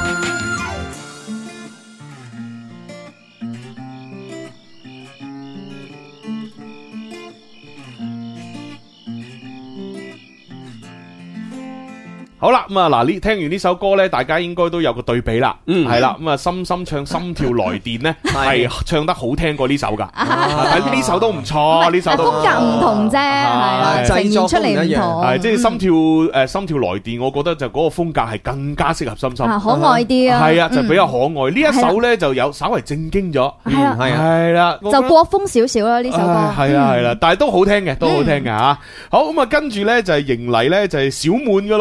好啦，咁啊嗱，呢聽完呢首歌咧，大家應該都有個對比啦，嗯，係啦，咁啊，深深唱《心跳來電》咧，係唱得好聽過呢首噶，但係呢首都唔錯，呢首都風格唔同啫，係呈現出嚟唔同， 係即係心跳誒《心跳來電》，我覺得就嗰個風格係更加適合深深， 可愛啲啊， 係啊，就比較可愛。呢一首咧就有稍為正經咗， 係啊， 係啦， 就國風少少啦呢首歌， 係啊係啦，但係都好聽嘅，都好聽嘅吓。好咁啊，跟住咧就係迎嚟咧就係小滿噶咯。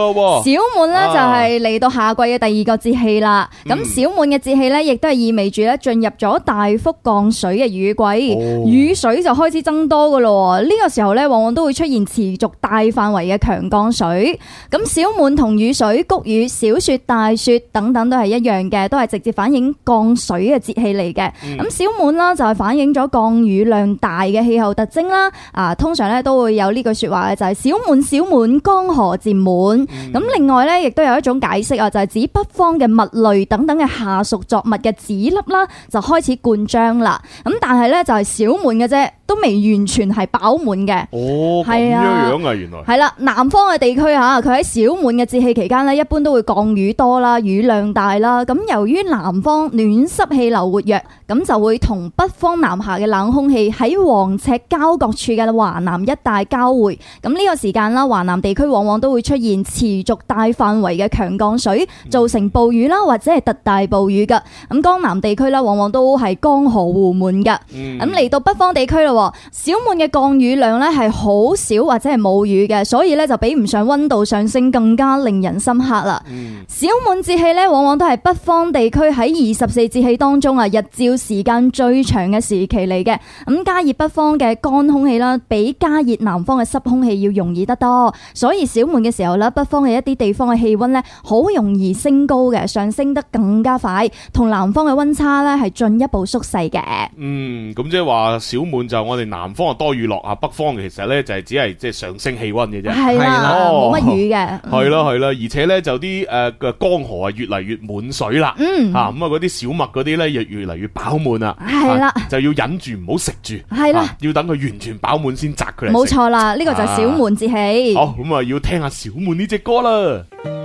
小滿咧就係嚟到夏季嘅第二個節氣啦。咁、嗯、小滿嘅節氣咧，亦都係意味住咧進入咗大幅降水嘅雨季，哦、雨水就開始增多噶咯。呢、這個時候咧，往往都會出現持續大範圍嘅強降水。咁小滿同雨水、谷雨、小雪、大雪等等都係一樣嘅，都係直接反映降水嘅節氣嚟嘅。咁、嗯、小滿啦就係反映咗降雨量大嘅氣候特徵啦。啊，通常咧都會有呢句說話嘅，就係、是、小滿小滿，江河漸滿。咁、嗯、另外咧，亦都有一種解釋啊，就係、是、指北方嘅物類等等嘅下屬作物嘅籽粒啦，就開始灌漿啦。咁但係咧就係小滿嘅啫，都未完全係飽滿嘅。哦，咁樣樣啊，原來係啦。南方嘅地區吓，佢喺小滿嘅節氣期間咧，一般都會降雨多啦，雨量大啦。咁由於南方暖濕氣流活躍，咁就會同北方南下嘅冷空氣喺黃赤交角處嘅華南一帶交匯。咁呢個時間啦，華南地區往往都會出現持續大範圍嘅強降水，造成暴雨啦，或者係特大暴雨噶。咁江南地區啦，往往都係江河湖滿噶。咁嚟、嗯、到北方地區咯，小滿嘅降雨量咧係好少或者係冇雨嘅，所以咧就比唔上溫度上升更加令人深刻啦。嗯、小滿節氣咧，往往都係北方地區喺二十四節氣當中啊，日照時間最長嘅時期嚟嘅。咁加熱北方嘅乾空氣啦，比加熱南方嘅濕空氣要容易得多，所以小滿嘅時候咧，北方嘅一啲地方嘅氣溫咧，好容易升高嘅，上升得更加快，同南方嘅溫差咧係進一步縮細嘅。嗯， 咁即係話小滿就我哋南方啊多雨落啊，北方其實咧就係只係即係上升氣溫嘅啫。係啦，冇乜雨嘅。係啦係啦，而且咧就啲誒嘅江河啊越嚟越滿水啦。嗯，吓咁啊嗰啲小麥嗰啲咧越越嚟越飽滿啦。係啦，就要忍住唔好食住。係啦，要等佢完全飽滿先摘佢嚟食。冇錯啦，呢個就係小滿節氣。好，咁啊要聽下小滿呢隻歌啦。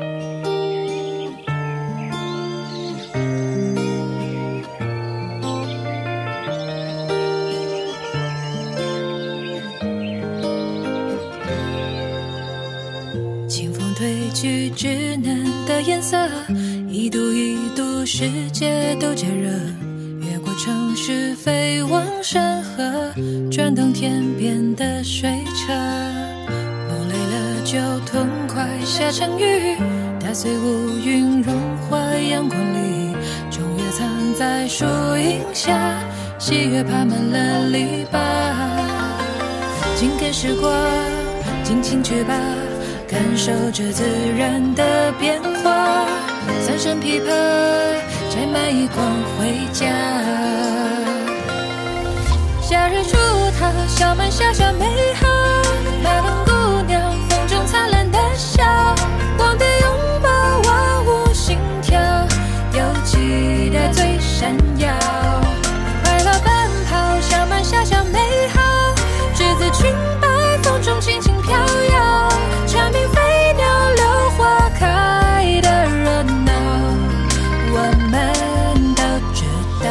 清风褪去稚嫩的颜色，一度一度世界都渐热，越过城市飞往山河，转动天边的水车。梦累了就痛快下场雨，打碎乌云融化阳光里，终月藏在树荫下，喜悦爬满了篱笆。紧跟时光，尽情去吧，感受着自然的变化，三声琵琶摘满一光回家。夏日出逃，小满小小美好，马龙姑娘风中灿烂的笑，光碟拥抱万物心跳，有期待最闪耀。快乐奔跑，小满小小美好，栀子裙摆风中轻轻飘摇，蝉鸣飞鸟柳花开的热闹，我们都知道。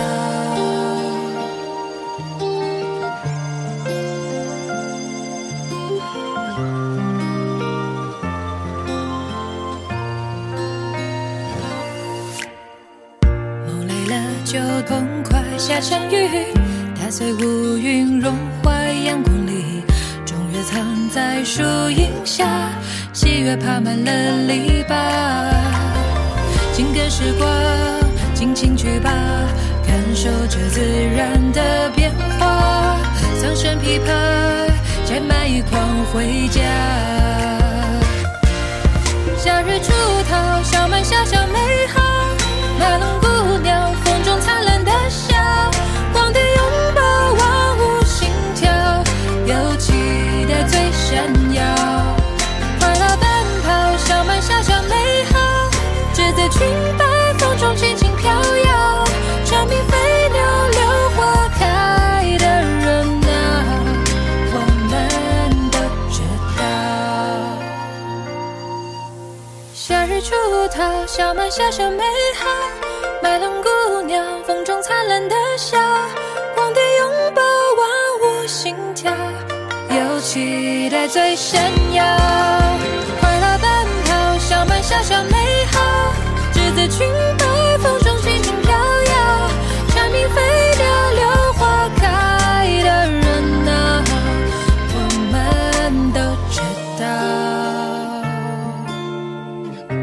梦累了就痛快下场雨，打碎乌云融化阳光里，中月藏在树荫下，喜悦爬满了篱笆。紧跟时光，尽情去吧，感受着自然的变化，桑葚琵琶摘满一筐回家。夏日出逃，小满小小美好，马龙姑娘风中灿烂的笑，光碟拥抱万物心跳，有期待最闪耀。快乐奔跑，小满小小美好，栀子裙摆风中轻轻飘摇，蝉鸣飞鸟柳花开的热闹，我们都知道。夏日出逃，小满小小美好，麦浪姑娘风中灿烂的笑，光碟拥抱万物心跳，有期待最闪耀。快乐奔跑，小满小小美好，栀子裙摆风中轻轻飘摇，蝉鸣飞鸟柳花开的热闹，我们都知道。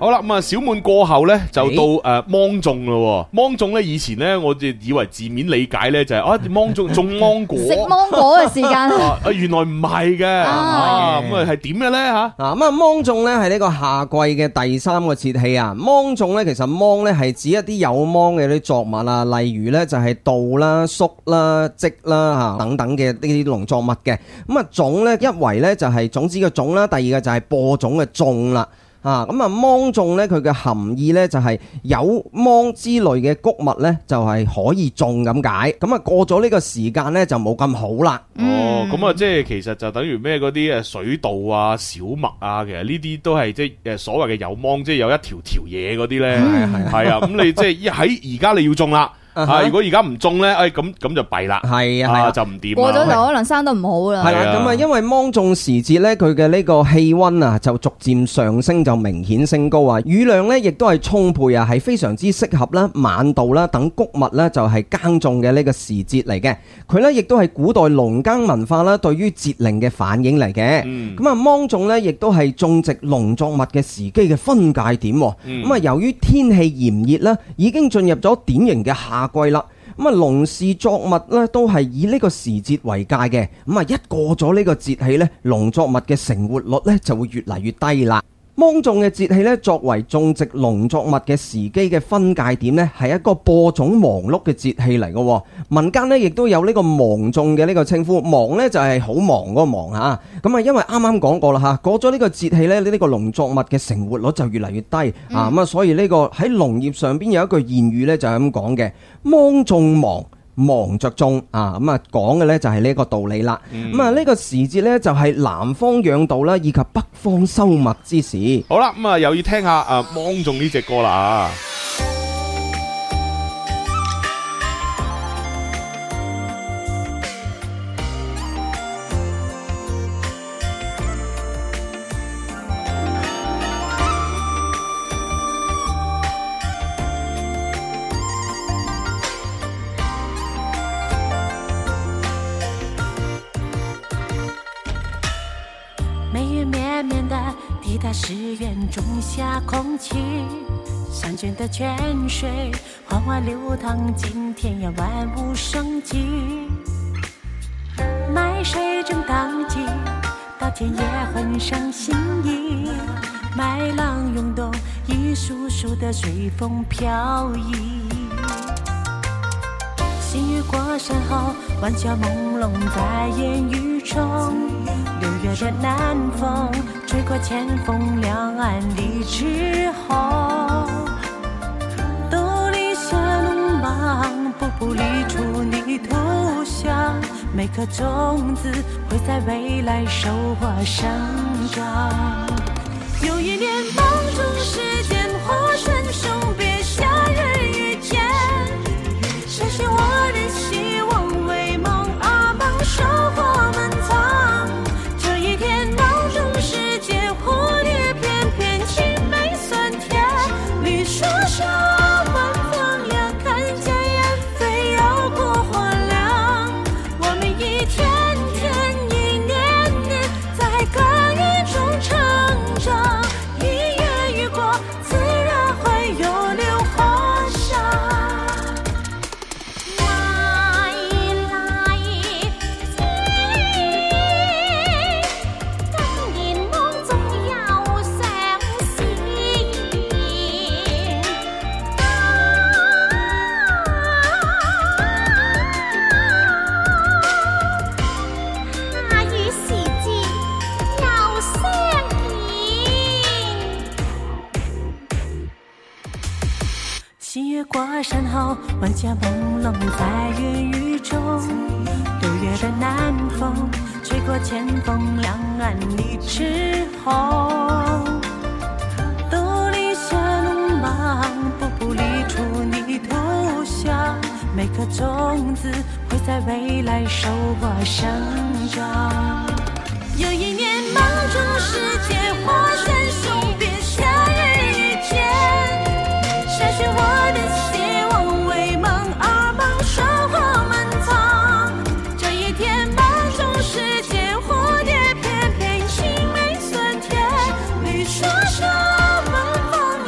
好啦，咁啊小滿過後咧就到誒芒種咯。芒種咧以前咧我就以為字面理解咧就係啊芒種種芒果， 食芒果嘅時間啊原來唔係嘅，啊咁啊係點嘅咧吓？ 啊咁啊芒種咧係呢個夏季嘅第三個節氣啊。芒種咧其實芒咧係指一啲有芒嘅啲作物啊，例如咧就係稻啦、粟啦、稷啦吓等等嘅呢啲農作物嘅。咁啊種咧一圍咧就係種子嘅種啦，第二個就係播種嘅種啦。啊，咁啊芒種咧佢嘅含義咧就係有芒之類嘅穀物咧就係可以種咁解。咁啊過咗呢個時間咧就冇咁好啦。 哦，咁啊即係其實就等於咩嗰啲誒水稻啊、小麥啊，其實呢啲都係即係誒所謂嘅有芒，即係有一條條嘢嗰啲咧。係係係啊，咁你即係喺而家你要種啦。啊！如果而家唔種咧，誒咁咁就弊啦，係啊，就唔掂。 過咗就可能生得唔好啦。 係啦，咁啊，因為芒種時節咧，佢嘅呢個氣溫啊，就逐漸上升，就明顯升高啊。雨量咧，亦都係充沛啊，係非常之適合啦、晚稻啦等穀物咧，就係耕種嘅呢個時節嚟嘅。佢咧亦都係古代農耕文化啦，對於節令嘅反映嚟嘅。咁啊，芒種咧，亦都係種植農作物嘅時機嘅分界點。咁啊，由於天氣炎熱啦，已經進入咗典型嘅夏季啦，咁啊農事作物咧都係以呢個時節為界嘅，咁啊一過咗呢個節氣咧，農作物嘅成活率咧就會越嚟越低啦。芒種嘅節氣咧，作為種植農作物嘅時機嘅分界點咧，係一個播種忙碌嘅節氣嚟嘅。民間咧亦都有呢個芒種嘅呢個稱呼，忙咧就係好忙嗰個忙吓。咁啊，因為啱啱講過啦吓，過咗呢個節氣咧，呢、這個農作物嘅成活率就越嚟越低、嗯、啊。咁啊，所以呢個喺農業上邊有一句諺語咧，就係咁講嘅：芒種忙。忙着種啊，咁啊講嘅呢就係呢個道理啦。咁啊呢個時節呢，就係南方養稻啦，以及北方收麥之時。 好啦，咁啊又要聽下誒芒種呢隻歌啦。 誓愿种下空气，山泉的泉水缓缓流淌进田野，万物生机。麦穗正当季，稻田也很上心意。麦浪涌动，一束束的随风飘逸。新雨过山后，晚霞朦胧在烟雨中。六月的南风吹过前锋，两岸的枝红。豆粒下农忙，步步立出泥土香。每颗种子会在未来收获生长。有一年芒种时间，花顺送别夏日遇见。相信我的希望为梦而忙，收获满仓。这一天芒种时节，蝴蝶翩翩，青梅酸甜，绿树上晚风凉，看见燕飞绕过花梁。我们一天天一年年在耕耘中成长，一月雨过自然会有榴花香。过山后，晚霞朦胧在烟雨中。六月的南风吹过前锋，两岸的枝红。豆粒下农忙，步步立出泥土香。每颗种子会在未来收获生长。有一年芒种时节，花山送别夏日遇见。相信我的希望为梦而忙，收获满仓。这一天芒种时节，蝴蝶翩翩，青梅酸甜，绿树上晚风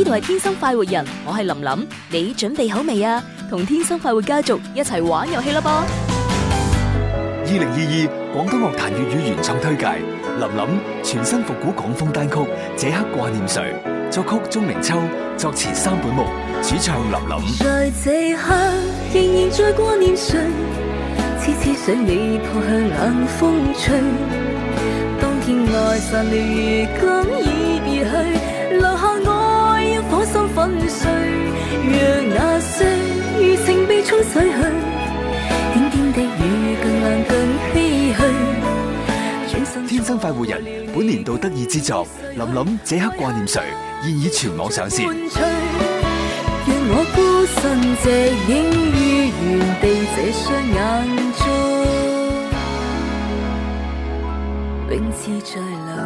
度係天生快活人，我係林林，你準備好未啊？同天生快活家族一齊玩遊戲啦噃！ 二零二二廣東樂壇粵語原創推介，林林全新復古港風單曲《這刻掛念誰》，作曲鍾明秋，作詞三本木，主唱林林。 在這刻仍然在掛念誰，痴痴想你撲向冷風吹。當天愛散了，如今已別去，留下愛要火心粉碎，讓那些餘情被沖洗去。點點的雨更冷更唏噓。 天生快活人本年度得意之作《林林這刻掛念誰》現已全網上線。 讓我孤身隻影於原地，這雙眼中永似在流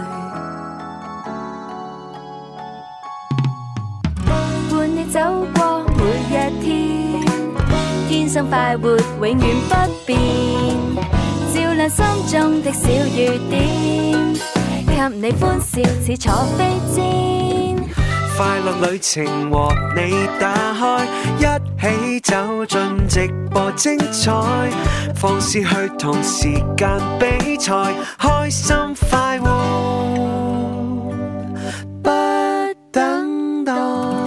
淚。 伴你走過每一天，天生快活永遠不變，照亮心中的小雨點，給你歡笑似坐飛氈。 快樂旅程和你打開，一起走進直播精彩，放肆去同時間比賽，開心快活不等待。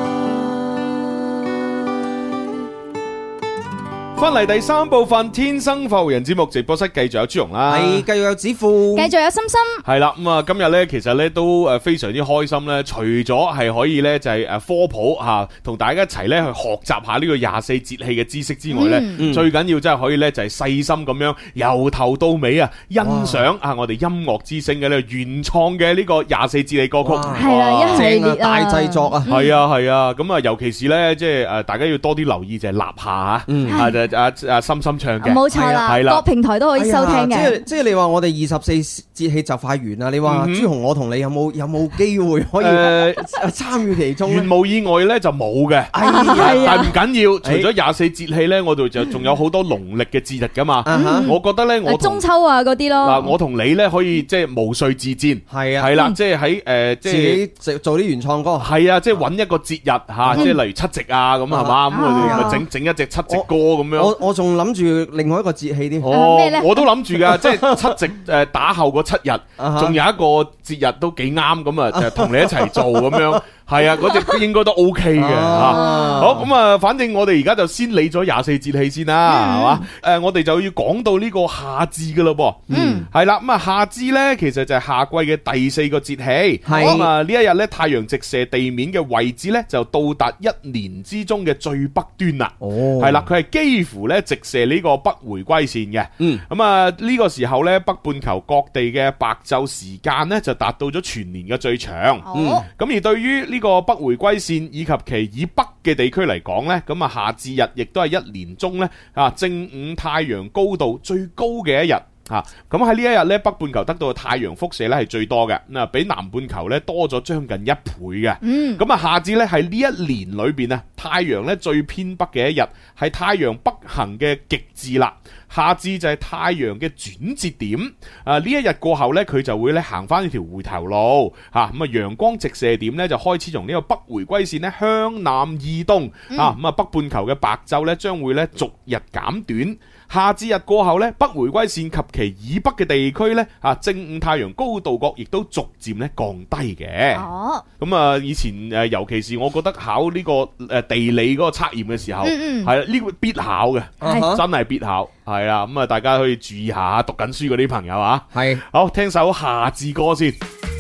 翻嚟第三部分《天生快活人》節目直播室，繼續有朱容啦， 係繼續有子富， 繼續有心心。 係啦，咁啊，今日咧其實咧都誒非常之開心咧，除咗係可以咧就係誒科普吓，同大家一齊咧去學習下呢個廿四節氣嘅知識之外咧， 嗯、 最緊要真係可以咧就係細心咁樣由頭到尾啊欣賞啊我哋音樂之聲嘅呢個原創嘅呢個廿四節氣歌曲， 係啦，一系列大製作啊， 係啊係啊，咁啊尤其是咧即係誒大家要多啲留意就係立夏吓， 嗯啊就啊啊心心唱嘅， 冇錯啦， 係啦， 各平台都可以收聽嘅。 即係即係你話我哋二十四節氣就快完啦，你話朱紅我同你有冇有冇機會可以誒參與其中咧？ 原無意外咧就冇嘅，但係唔緊要。除咗廿四節氣咧，我哋就仲有好多農曆嘅節日噶嘛。我覺得咧，我中秋啊嗰啲咯。 嗱，我同你咧可以即係無序自薦， 係啊， 係啦，即係喺誒即係自己做啲原創歌， 係啊，即係揾一個節日嚇，即係例如七夕啊咁係嘛，咁我哋咪整整一隻七夕歌咁樣。 我我仲諗住另外一個節氣添， 哦，我都諗住噶，即係七夕誒打後嗰七日，仲有一個節日都幾啱咁啊，就同你一齊做咁樣。係啊，嗰隻應該都 OK 嘅吓。好咁啊，反正我哋而家就先理咗廿四節氣先啦，係嘛？誒，我哋就要講到呢個夏至噶咯噃。嗯，係啦。咁啊，夏至咧，其實就係夏季嘅第四個節氣。係咁啊，呢一日咧，太陽直射地面嘅位置咧，就到達一年之中嘅最北端啦。哦，係啦，佢係幾乎咧直射呢個北回歸線嘅。嗯，咁啊，呢個時候咧，北半球各地嘅白晝時間咧，就達到咗全年嘅最長。哦，咁而對於呢個北回歸線以及其以北嘅地區嚟講呢，咁啊夏至日亦都係一年中咧啊正午太陽高度最高嘅一日啊！咁喺呢一日咧，北半球得到嘅太陽輻射咧係最多嘅，嗱比南半球咧多咗將近一倍嘅。嗯，咁啊夏至咧係呢一年裏邊啊太陽咧最偏北嘅一日，係太陽北行嘅極致啦。夏至就係太陽嘅轉折點，啊呢一日過後咧，佢就會咧行翻呢條回頭路，吓咁啊陽光直射點咧就開始從呢個北回歸線咧向南移動，嗯、啊咁啊北半球嘅白晝咧將會咧逐日減短。夏至日過後咧，北回歸線及其以北嘅地區咧，啊正午太陽高度角亦都逐漸咧降低嘅。哦，咁啊以前誒，尤其是我覺得考呢個誒地理嗰個測驗嘅時候，係啦呢個必考嘅，嗯、真係必考。係啊，咁啊大家可以注意下讀緊書嗰啲朋友啊。係，好聽首夏至歌先。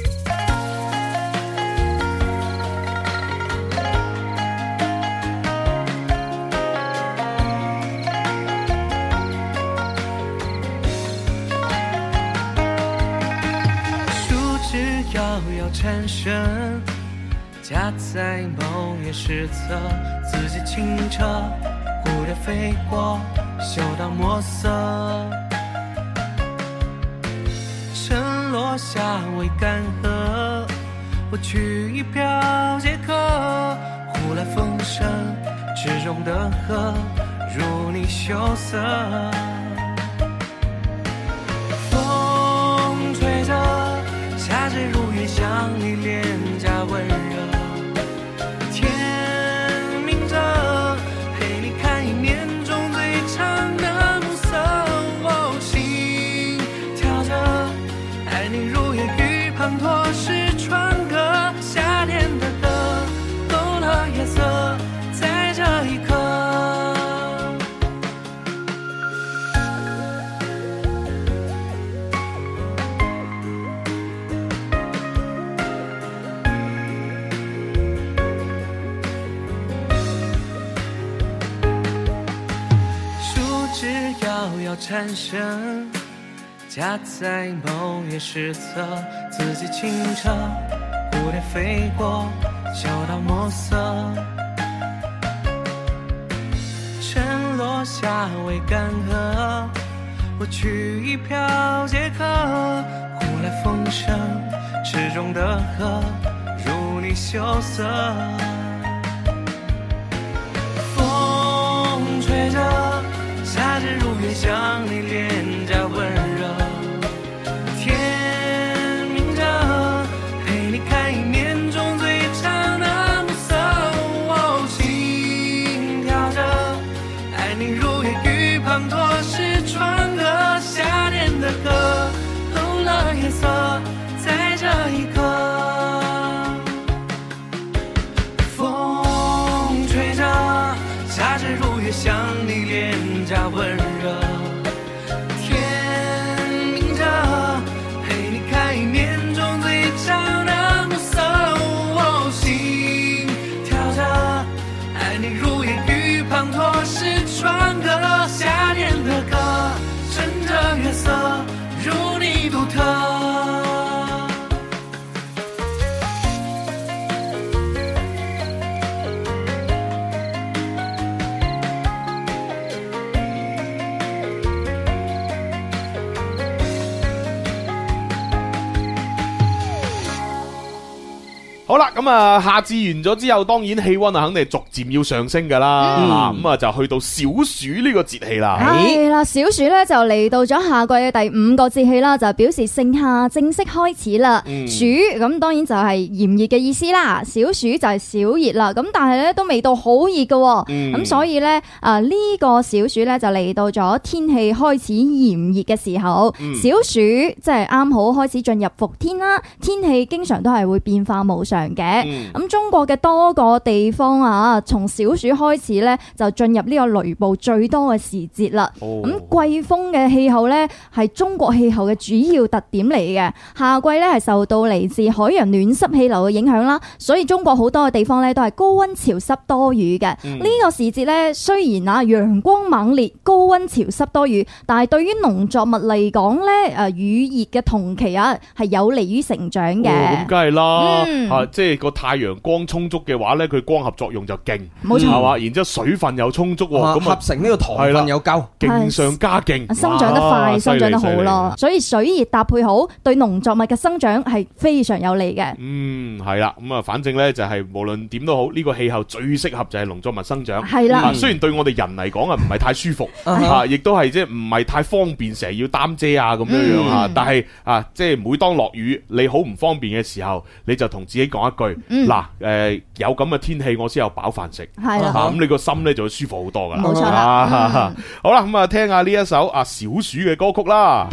产生夹在某页史册，自己清澈，蝴蝶飞过，嗅到墨色，晨落下未干涸，我取一瓢解渴，呼来风声，池中的河如你羞涩，风吹着夏至如愿，像你脸颊温热， 遥蝉声，夹在某月失策，自己清澈，蝴蝶飞过，嗅到墨色，晨落下未干涸，我取一瓢解渴，呼来风声，池中的河如你羞涩，风吹着，夏至如月，向你脸颊温热，天明着，陪你看一面中最长的暮色，哦，心跳着，爱你如夜雨滂沱，是窗歌，夏天的歌，透了颜色，在这一刻，风吹着，夏至如月，向你脸颊温热，天明着，陪你看一面中最长的暮色，哦，心跳着，爱你如夜雨滂沱，是窗歌，夏天的歌，趁着月色，如你独特。 好啦，咁啊，夏至完咗之後，當然氣溫啊，肯定係逐漸要上升噶啦。咁啊，就去到小暑呢個節氣啦。 係啦，小暑咧就嚟到咗夏季嘅第五個節氣啦，就表示盛夏正式開始啦。暑咁當然就係炎熱嘅意思啦，小暑就係小熱啦。咁但係咧都未到好熱嘅，咁所以咧啊呢個小暑咧就嚟到咗天氣開始炎熱嘅時候。小暑即係啱好開始進入伏天啦，天氣經常都係會變化無常嘅，咁、嗯、中國嘅多個地方啊，從小暑開始咧就進入呢個雷暴最多嘅時節啦。咁、哦、季風嘅氣候咧係中國氣候嘅主要特點嚟嘅。夏季咧係受到嚟自海洋暖濕氣流嘅影響啦，所以中國好多嘅地方咧都係高溫潮濕多雨嘅。呢、嗯、個時節咧雖然啊陽光猛烈、高溫潮濕多雨，但係對於農作物嚟講咧，誒雨熱嘅同期啊係有利於成長嘅。 咁梗係啦， 嗯啊即係個太陽光充足嘅話咧，佢光合作用就勁， 冇錯係嘛？然之後水分又充足，咁合成呢個糖分又夠， 勁上加勁， 生長得快，生長得好咯。所以水熱搭配好，對農作物嘅生長係非常有利嘅。 嗯，係啦，咁啊，反正咧就係無論點都好，呢個氣候最適合就係農作物生長。 係啦， 雖然對我哋人嚟講啊，唔係太舒服啊，亦都係即係唔係太方便，成日要擔遮啊咁樣樣啊。但係啊，即係每當落雨，你好唔方便嘅時候，你就同自己講一句。嗱，誒，有咁嘅天氣，我先有飽飯食，係啦，咁你個心咧就會舒服好多噶啦。 冇錯啦。 好啦，咁啊，聽下呢一首啊小暑嘅歌曲啦。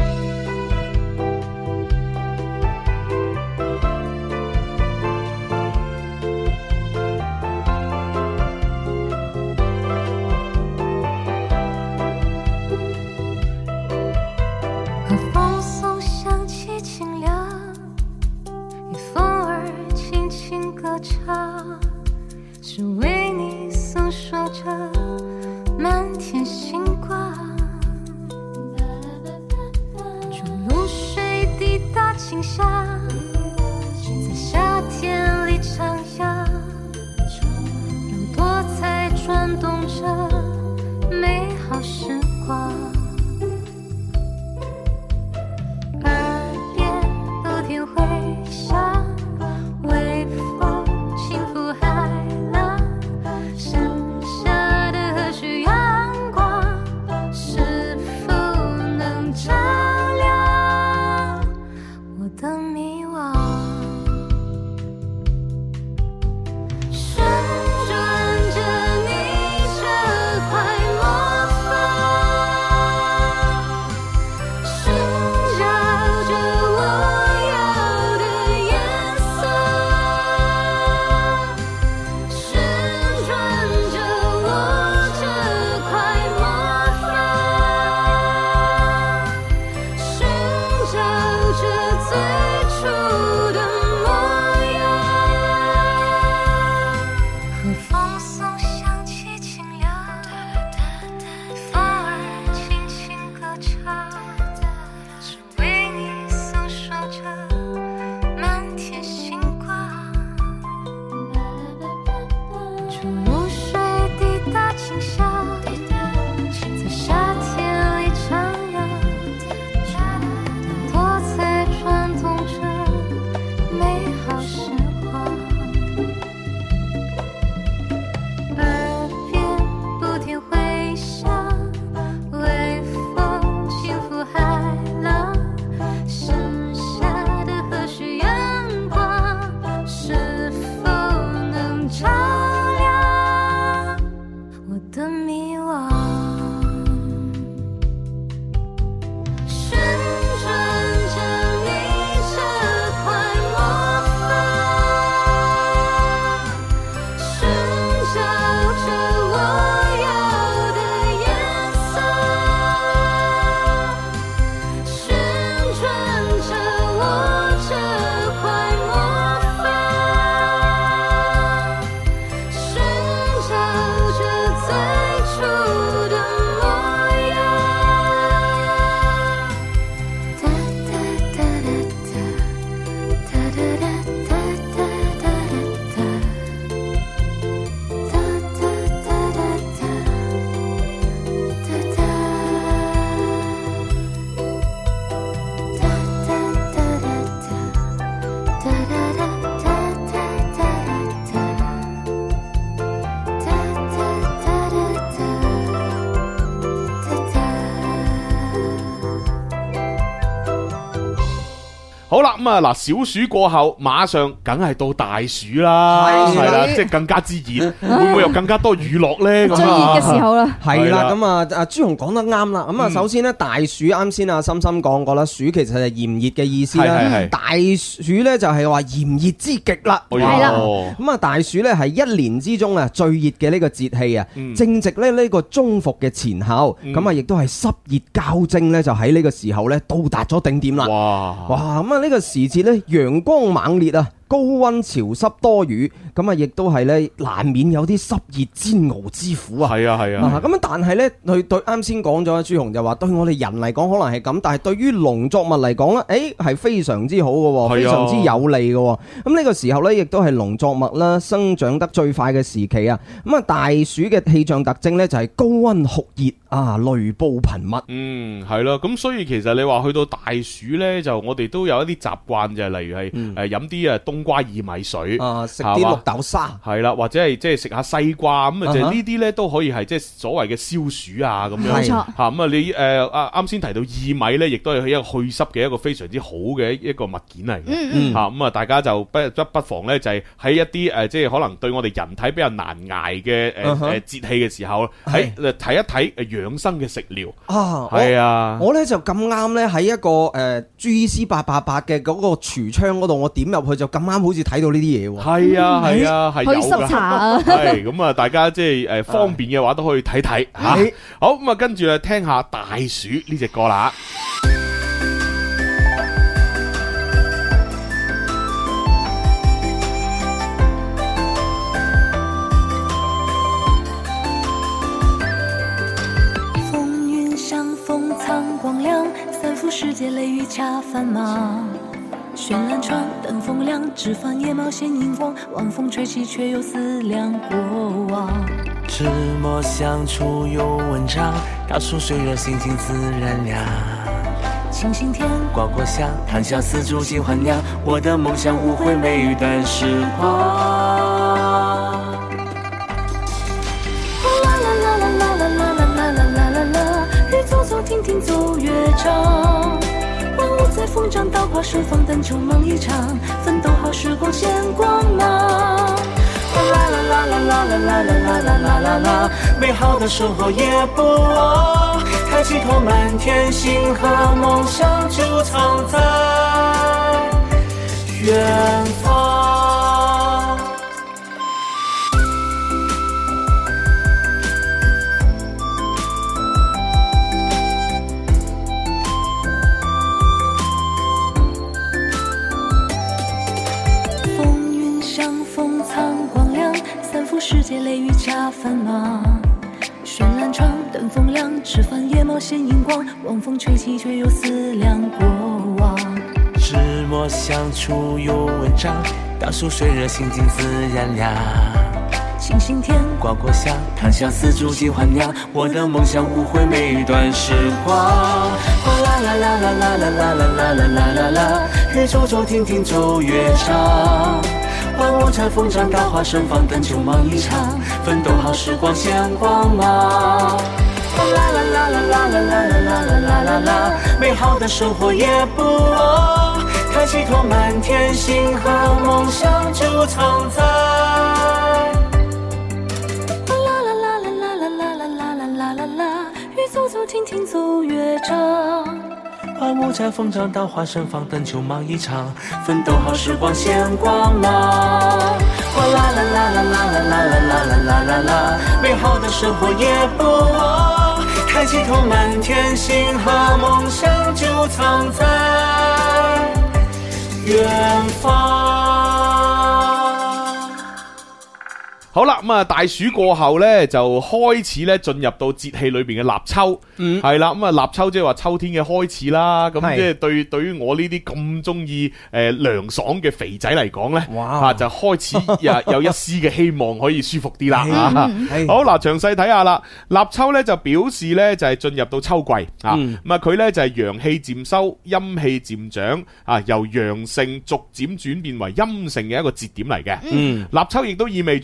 风送香气清凉，与风儿轻轻歌唱，是为你诉说着满天星光。珠露水滴答清香，在夏天里徜徉，让多彩转动着美好时光。耳边都听回响，微风轻拂海浪，盛夏的和煦阳光，是否能照亮我的迷惘？ 好啦，咁啊嗱，小暑過後，馬上梗係到大暑啦，係啦，即係更加之熱，會唔會有更加多娛樂咧？ 最熱嘅時候啦， 係啦，咁啊，阿朱紅講得啱啦。咁啊，首先咧，大暑啱先啊，深深講過啦，暑其實係炎熱嘅意思啦。大暑咧就係話炎熱之極啦，係啦。咁啊，大暑咧係一年之中啊最熱嘅呢個節氣啊，正值咧呢個中伏嘅前後，咁啊亦都係濕熱交織咧，就喺呢個時候咧到達咗頂點啦。哇！哇！咁啊呢個時節咧陽光猛烈啊！高溫潮濕多雨，咁啊，亦都係咧難免有啲濕熱煎熬之苦啊！ 係啊係啊！ 咁但係咧，佢對啱先講咗，朱紅就話對我哋人嚟講可能係咁，但係對於農作物嚟講咧，誒係非常之好嘅，非常之有利嘅。咁呢個時候咧，亦都係農作物啦生長得最快嘅時期啊！咁啊，大暑嘅氣象特徵咧就係高溫酷熱啊，雷暴頻密。 嗯，係咯。咁所以其實你話去到大暑咧，就我哋都有一啲習慣就係，例如係誒飲啲啊冬瓜薏米水啊，食啲綠豆沙， 係啦，或者係即係食下西瓜咁啊，就呢啲咧都可以係即係所謂嘅消暑啊咁樣。冇錯嚇咁啊！你誒啊啱先提到薏米咧，亦都係一個去濕嘅一個非常之好嘅一個物件嚟嘅。嗯嚇咁啊，大家就不不不妨咧，就係喺一啲誒即係可能對我哋人體比較難捱嘅誒誒節氣嘅時候，喺睇一睇誒養生嘅食療啊。係啊， 我咧就咁啱咧喺一個誒 G C 八八八嘅嗰個櫥窗嗰度，我點入去就咁啱好似睇到呢啲嘢喎。 係啊係啊係有㗎。去濕茶啊。係咁啊，大家即係誒方便嘅話都可以睇睇嚇。好咁啊，跟住啊聽下大暑呢隻歌啦。 風雲相逢蒼光亮，三伏世界雷雨恰繁忙。绚爛窗，燈風亮，枝繁葉茂現熒光，晚風吹起卻又思量過往。 芝麻相處有文章，大樹雖熱心情自然涼。 清新天， 刮過香，談笑四柱盡還亮，我的夢想無悔每一段時光。 啦啦啦啦啦啦啦啦啦啦啦啦，雨走走停停走樂章。萬物在風中稻花盛放，但秋忙一場，奮鬥好時光顯光芒。 啦啦啦啦啦啦啦啦啦啦啦啦，美好的生活也不忘，抬起頭滿天星河，夢想就藏在遠方。 世界雷雨恰繁忙，绚爛窗，燈風亮，枝繁葉茂現熒光，晚風吹起卻又思量過往。 芝麻相處有文章，大樹雖熱心情自然涼。 清新天， 刮過香，談笑四柱盡還亮，我的夢想無悔每一段時光。啦啦啦啦啦啦啦啦啦啦啦啦，雨走走停停走樂章。萬物在風中稻花盛放，但秋忙一場，奮鬥好時光顯光芒。啦啦啦啦啦啦啦啦啦啦啦啦，美好的生活也不忘，抬起頭滿天星河，夢想就藏在。 啦啦啦啦啦啦啦啦啦啦啦啦，雨走走停停走樂章。 萬物在風中稻花盛放，但秋忙一場，奮鬥好時光顯光芒。哇啦啦啦啦啦啦啦啦啦啦啦啦，美好的生活也不忘，抬起頭滿天星河，夢想就藏在遠方。 好啦，咁啊大暑過後咧，就開始咧進入到節氣裏邊嘅立秋，係啦、嗯，咁啊立秋即係話秋天嘅開始啦。咁即係對對於我呢啲咁中意誒涼爽嘅肥仔嚟講咧，哇啊就開始有有一絲嘅希望可以舒服啲啦。好嗱，詳細睇下啦。立秋咧就表示咧就係進入到秋季啊，咁啊佢咧就係陽氣漸收，陰氣漸長啊，由陽盛逐漸轉變為陰盛嘅一個節點嚟嘅。嗯，立秋亦都意味住咧降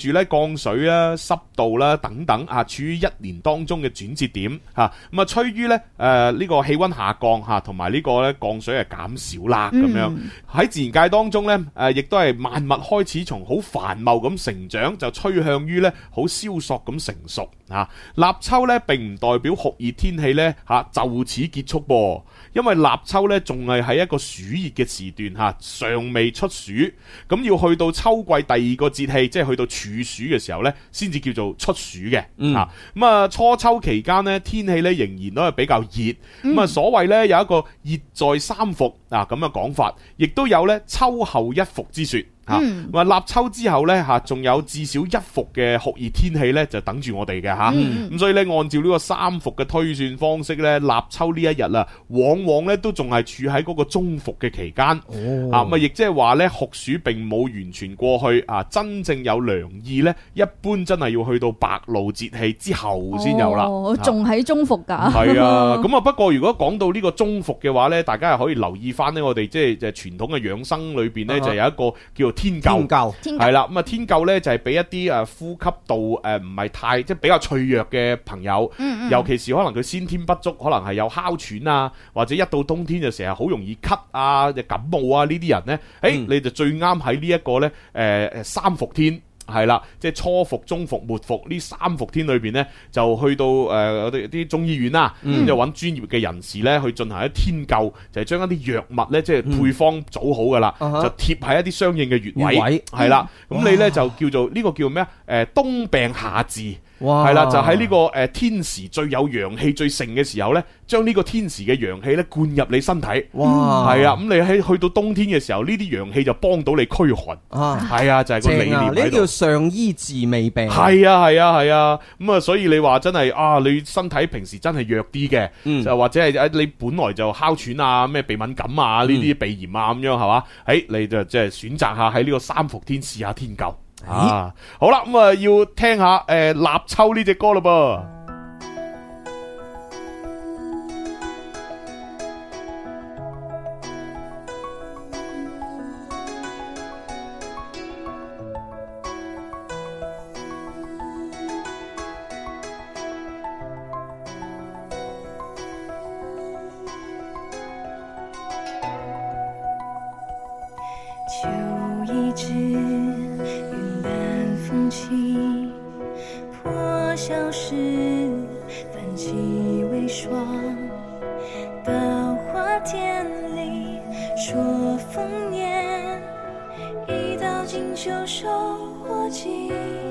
降水啦、濕度啦等等啊，處於一年當中嘅轉折點嚇。咁啊，趨於咧誒呢個氣温下降嚇，同埋呢個咧降水係減少啦咁樣。喺自然界當中咧誒，亦都係萬物開始從好繁茂咁成長，就趨向於咧好蕭索咁成熟嚇。立秋咧並唔代表酷熱天氣咧嚇就此結束噃，因為立秋咧仲係喺一個暑熱嘅時段嚇，尚未出暑，咁要去到秋季第二個節氣，即係去到處暑嘅時候咧，先至叫做出暑嘅嚇。咁、嗯、啊初秋期間咧天氣咧仍然都係比較熱，咁、嗯、啊所謂咧有一個熱在三伏啊咁嘅講法，亦都有咧秋後一伏之說。吓，話、嗯、立秋之後呢，吓，仲有至少一伏嘅酷熱天氣呢，就等住我哋嘅吓。咁、嗯、所以呢，按照呢個三伏嘅推算方式呢，立秋呢一日啦，往往呢都仲係處喺嗰個中伏嘅期間。哦、啊，咁啊，亦即係話呢，酷暑並冇完全過去啊，真正有涼意呢，一般真係要去到白露節氣之後先有啦。 哦，仲喺中伏噶。 係啊，咁啊，不過如果講到呢個中伏嘅話呢，大家係可以留意翻呢，我哋即係就傳統嘅養生裏邊呢，就有一個叫做天灸，係啦，咁啊天灸咧就係俾一啲誒呼吸道誒唔係太即係比較脆弱嘅朋友，嗯嗯尤其是可能佢先天不足，可能係有哮喘啊，或者一到冬天就成日好容易咳啊、感冒啊呢啲人咧，誒、嗯、你就最啱喺呢一個咧誒誒三伏天。係啦，即係初伏、中伏、末伏呢三伏天裏邊呢，就去到誒我哋啲中醫院啦，咁、嗯、就揾專業嘅人士呢去進行一天灸，就係、是、將一啲藥物呢，即係配方組好噶啦，嗯、就貼喺一啲相應嘅穴位，係啦，咁、嗯、你呢，就叫做呢、這個叫咩啊？誒、呃、冬病夏治。係啦，就喺呢個誒天時最有陽氣最盛嘅時候呢，將呢個天時嘅陽氣呢灌入你身體。哇！係啊，咁你喺去到冬天嘅時候，呢啲陽氣就幫到你驅寒。啊，係啊，就係、是、個理念喺度。呢叫上醫治未病。係啊，係啊，係啊。咁啊，所以你話真係啊，你身體平時真係弱啲嘅，就、嗯、或者係你本來就哮喘啊、咩鼻敏感啊呢啲鼻炎啊咁樣係嘛？誒，你就即係選擇下喺呢個三伏天試下天灸。啊，好啦，咁啊要聽下誒、呃、立秋呢隻歌嘞噃。 秋已至，云淡风轻，破晓时泛起微霜。稻花田里说丰年，一到金秋收获季。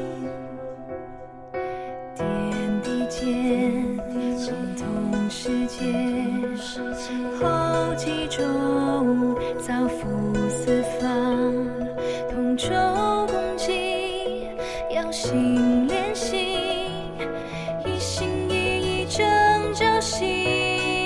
天地间，融通世界，后继中，造福四方。同舟共济，要心连心，一心一意正朝夕。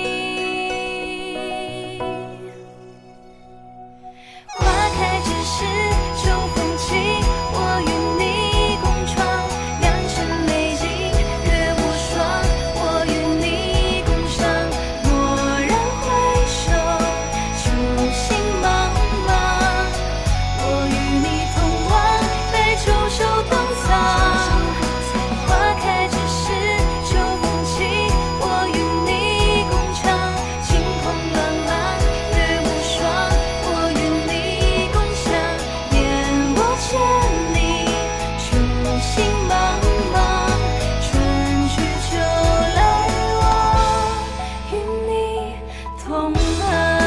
花开之时，秋风起，我与你共创良辰美景，月无双，我与你共赏。蓦然回首，秋心茫茫，我与你同往白昼秋冬藏。花开之时，秋风起，我与你共唱。晴空朗朗，月无双，我与你共享。烟波千里，秋心茫茫，春去秋来，我与你同航。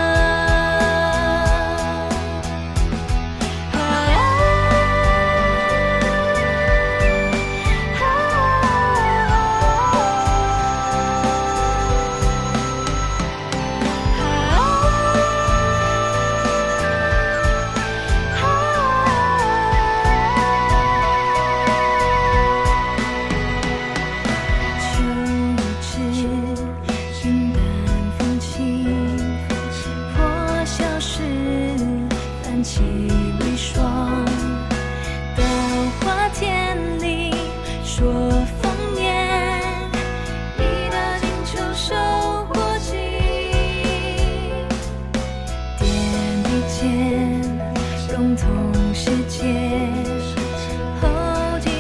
秋已至，云淡风轻，破晓时泛起微霜。稻花田里说丰年，一到金秋收获季。天地间，融通世界，后继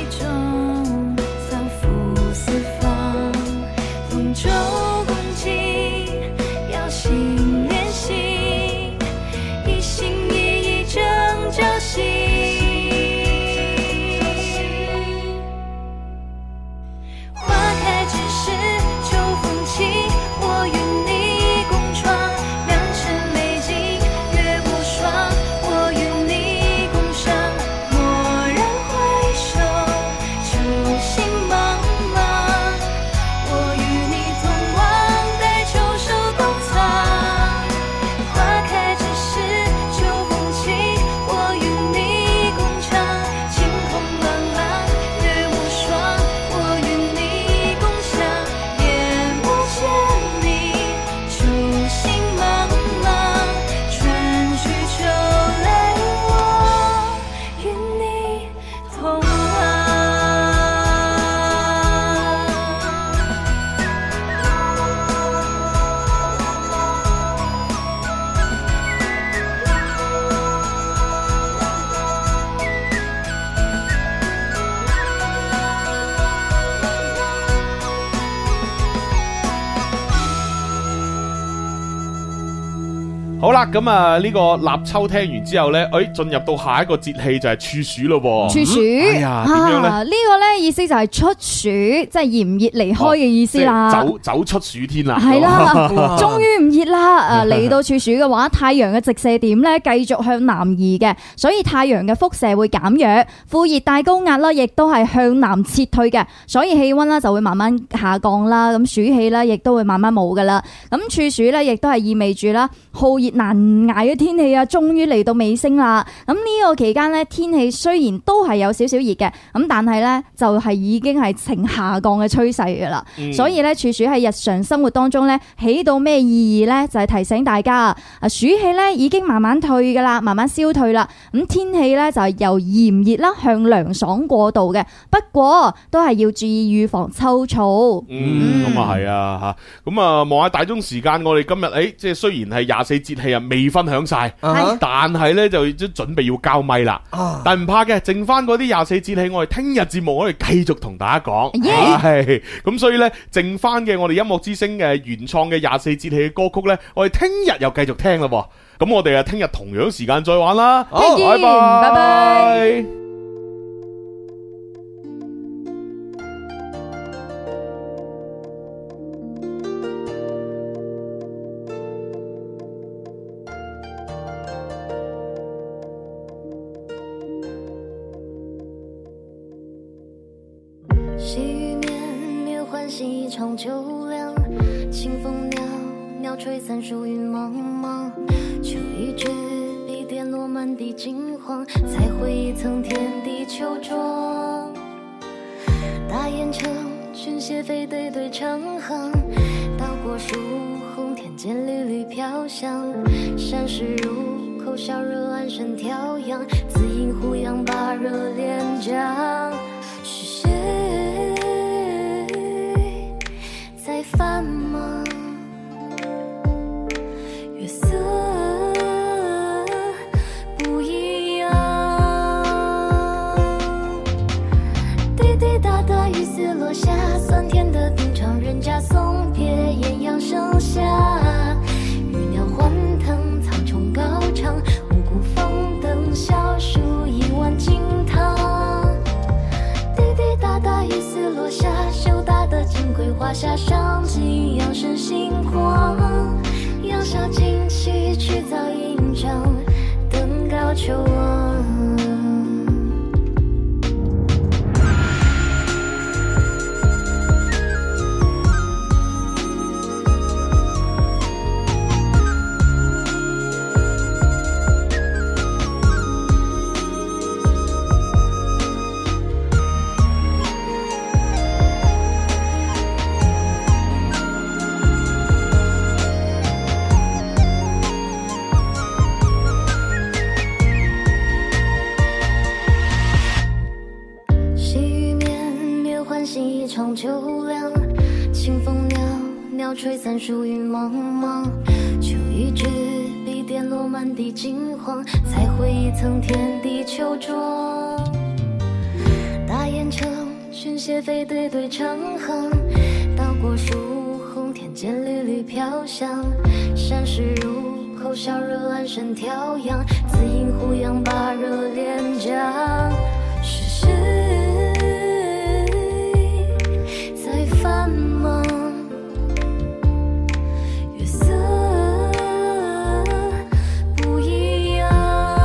好啦，咁啊呢個立秋聽完之後咧，誒進入到下一個節氣就係處暑咯噃。 處暑， 哎呀，點樣咧？ 啊呢個咧意思就係出暑，即係熱唔熱離開嘅意思啦。 走走出暑天啦。 係啦，終於唔熱啦。啊嚟到處暑嘅話，太陽嘅直射點咧繼續向南移嘅，所以太陽嘅輻射會減弱，副熱帶高壓啦，亦都係向南撤退嘅，所以氣溫啦就會慢慢下降啦。咁暑氣啦，亦都會慢慢冇噶啦。咁處暑咧，亦都係意味住啦，酷熱難捱嘅天氣啊，終於嚟到尾聲啦。咁呢個期間咧，天氣雖然都係有少少熱嘅，咁但係咧就係已經係呈下降嘅趨勢噶啦。 嗯、 所以咧，處暑喺日常生活當中咧，起到咩意義咧？就係提醒大家啊，暑氣咧已經慢慢退噶啦，慢慢消退啦。咁天氣咧就係由炎熱啦向涼爽過渡嘅，不過都係要注意預防秋燥。 嗯，咁啊係啊吓，咁啊望下大鐘時間，我哋今日誒，即係雖然係廿四節氣啊，未分享晒， 啊、 但係咧就都準備要交咪啦。啊、但唔怕嘅，剩翻嗰啲廿四節氣，我哋聽日節目我哋繼續同大家講。係咁 Yeah.，所以咧剩翻嘅我哋音樂之聲嘅原創嘅廿四節氣嘅歌曲咧，我哋聽日又繼續聽啦。咁我哋啊聽日同樣時間再玩啦。好，拜拜，拜拜。 细雨绵绵，欢喜一场秋凉。清风袅袅，吹散疏云茫茫。秋已至，碧点落满地金黄，才绘一层天地秋妆。大雁城，群蟹飞对对成行。到过树红，天间缕缕飘香。山石入口，小热安身调养。自饮胡杨，把热连江。是谁在繁忙？月色不一样，滴滴答答雨丝落下，酸甜的品尝人家送别，艳阳盛夏，鱼鸟欢腾，草丛高唱，五谷丰登，小树一碗金汤。滴滴答答雨丝落下，羞答的金桂花下，上紧扬声星光，杨小旌旗，去早迎章，登高求望。秋凉，清风袅袅，吹散疏云茫茫。秋已至，碧点落满地金黄，才绘一层天地秋妆。大雁城，群蟹飞对对成行。到过树红，天间缕缕飘香。山石入口，小热安身调养。自饮胡杨，把热连江。是谁繁忙？月色不一样，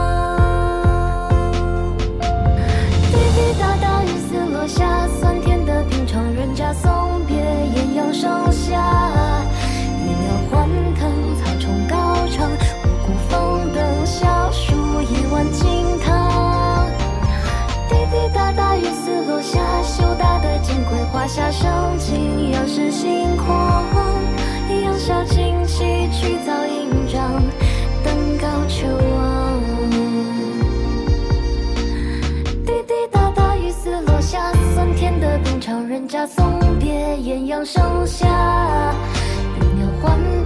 滴滴答答雨丝落下，酸甜的品尝人家送别，艳阳盛夏，鱼鸟欢腾，草丛高唱，五谷丰登，小树一碗金汤。滴滴答答雨丝落下，羞答的金桂花下，上紧扬声星光，杨小旌旗，去早迎章，登高求望。滴滴答答雨丝落下，酸甜的品尝人家送别，艳阳盛夏，鱼鸟欢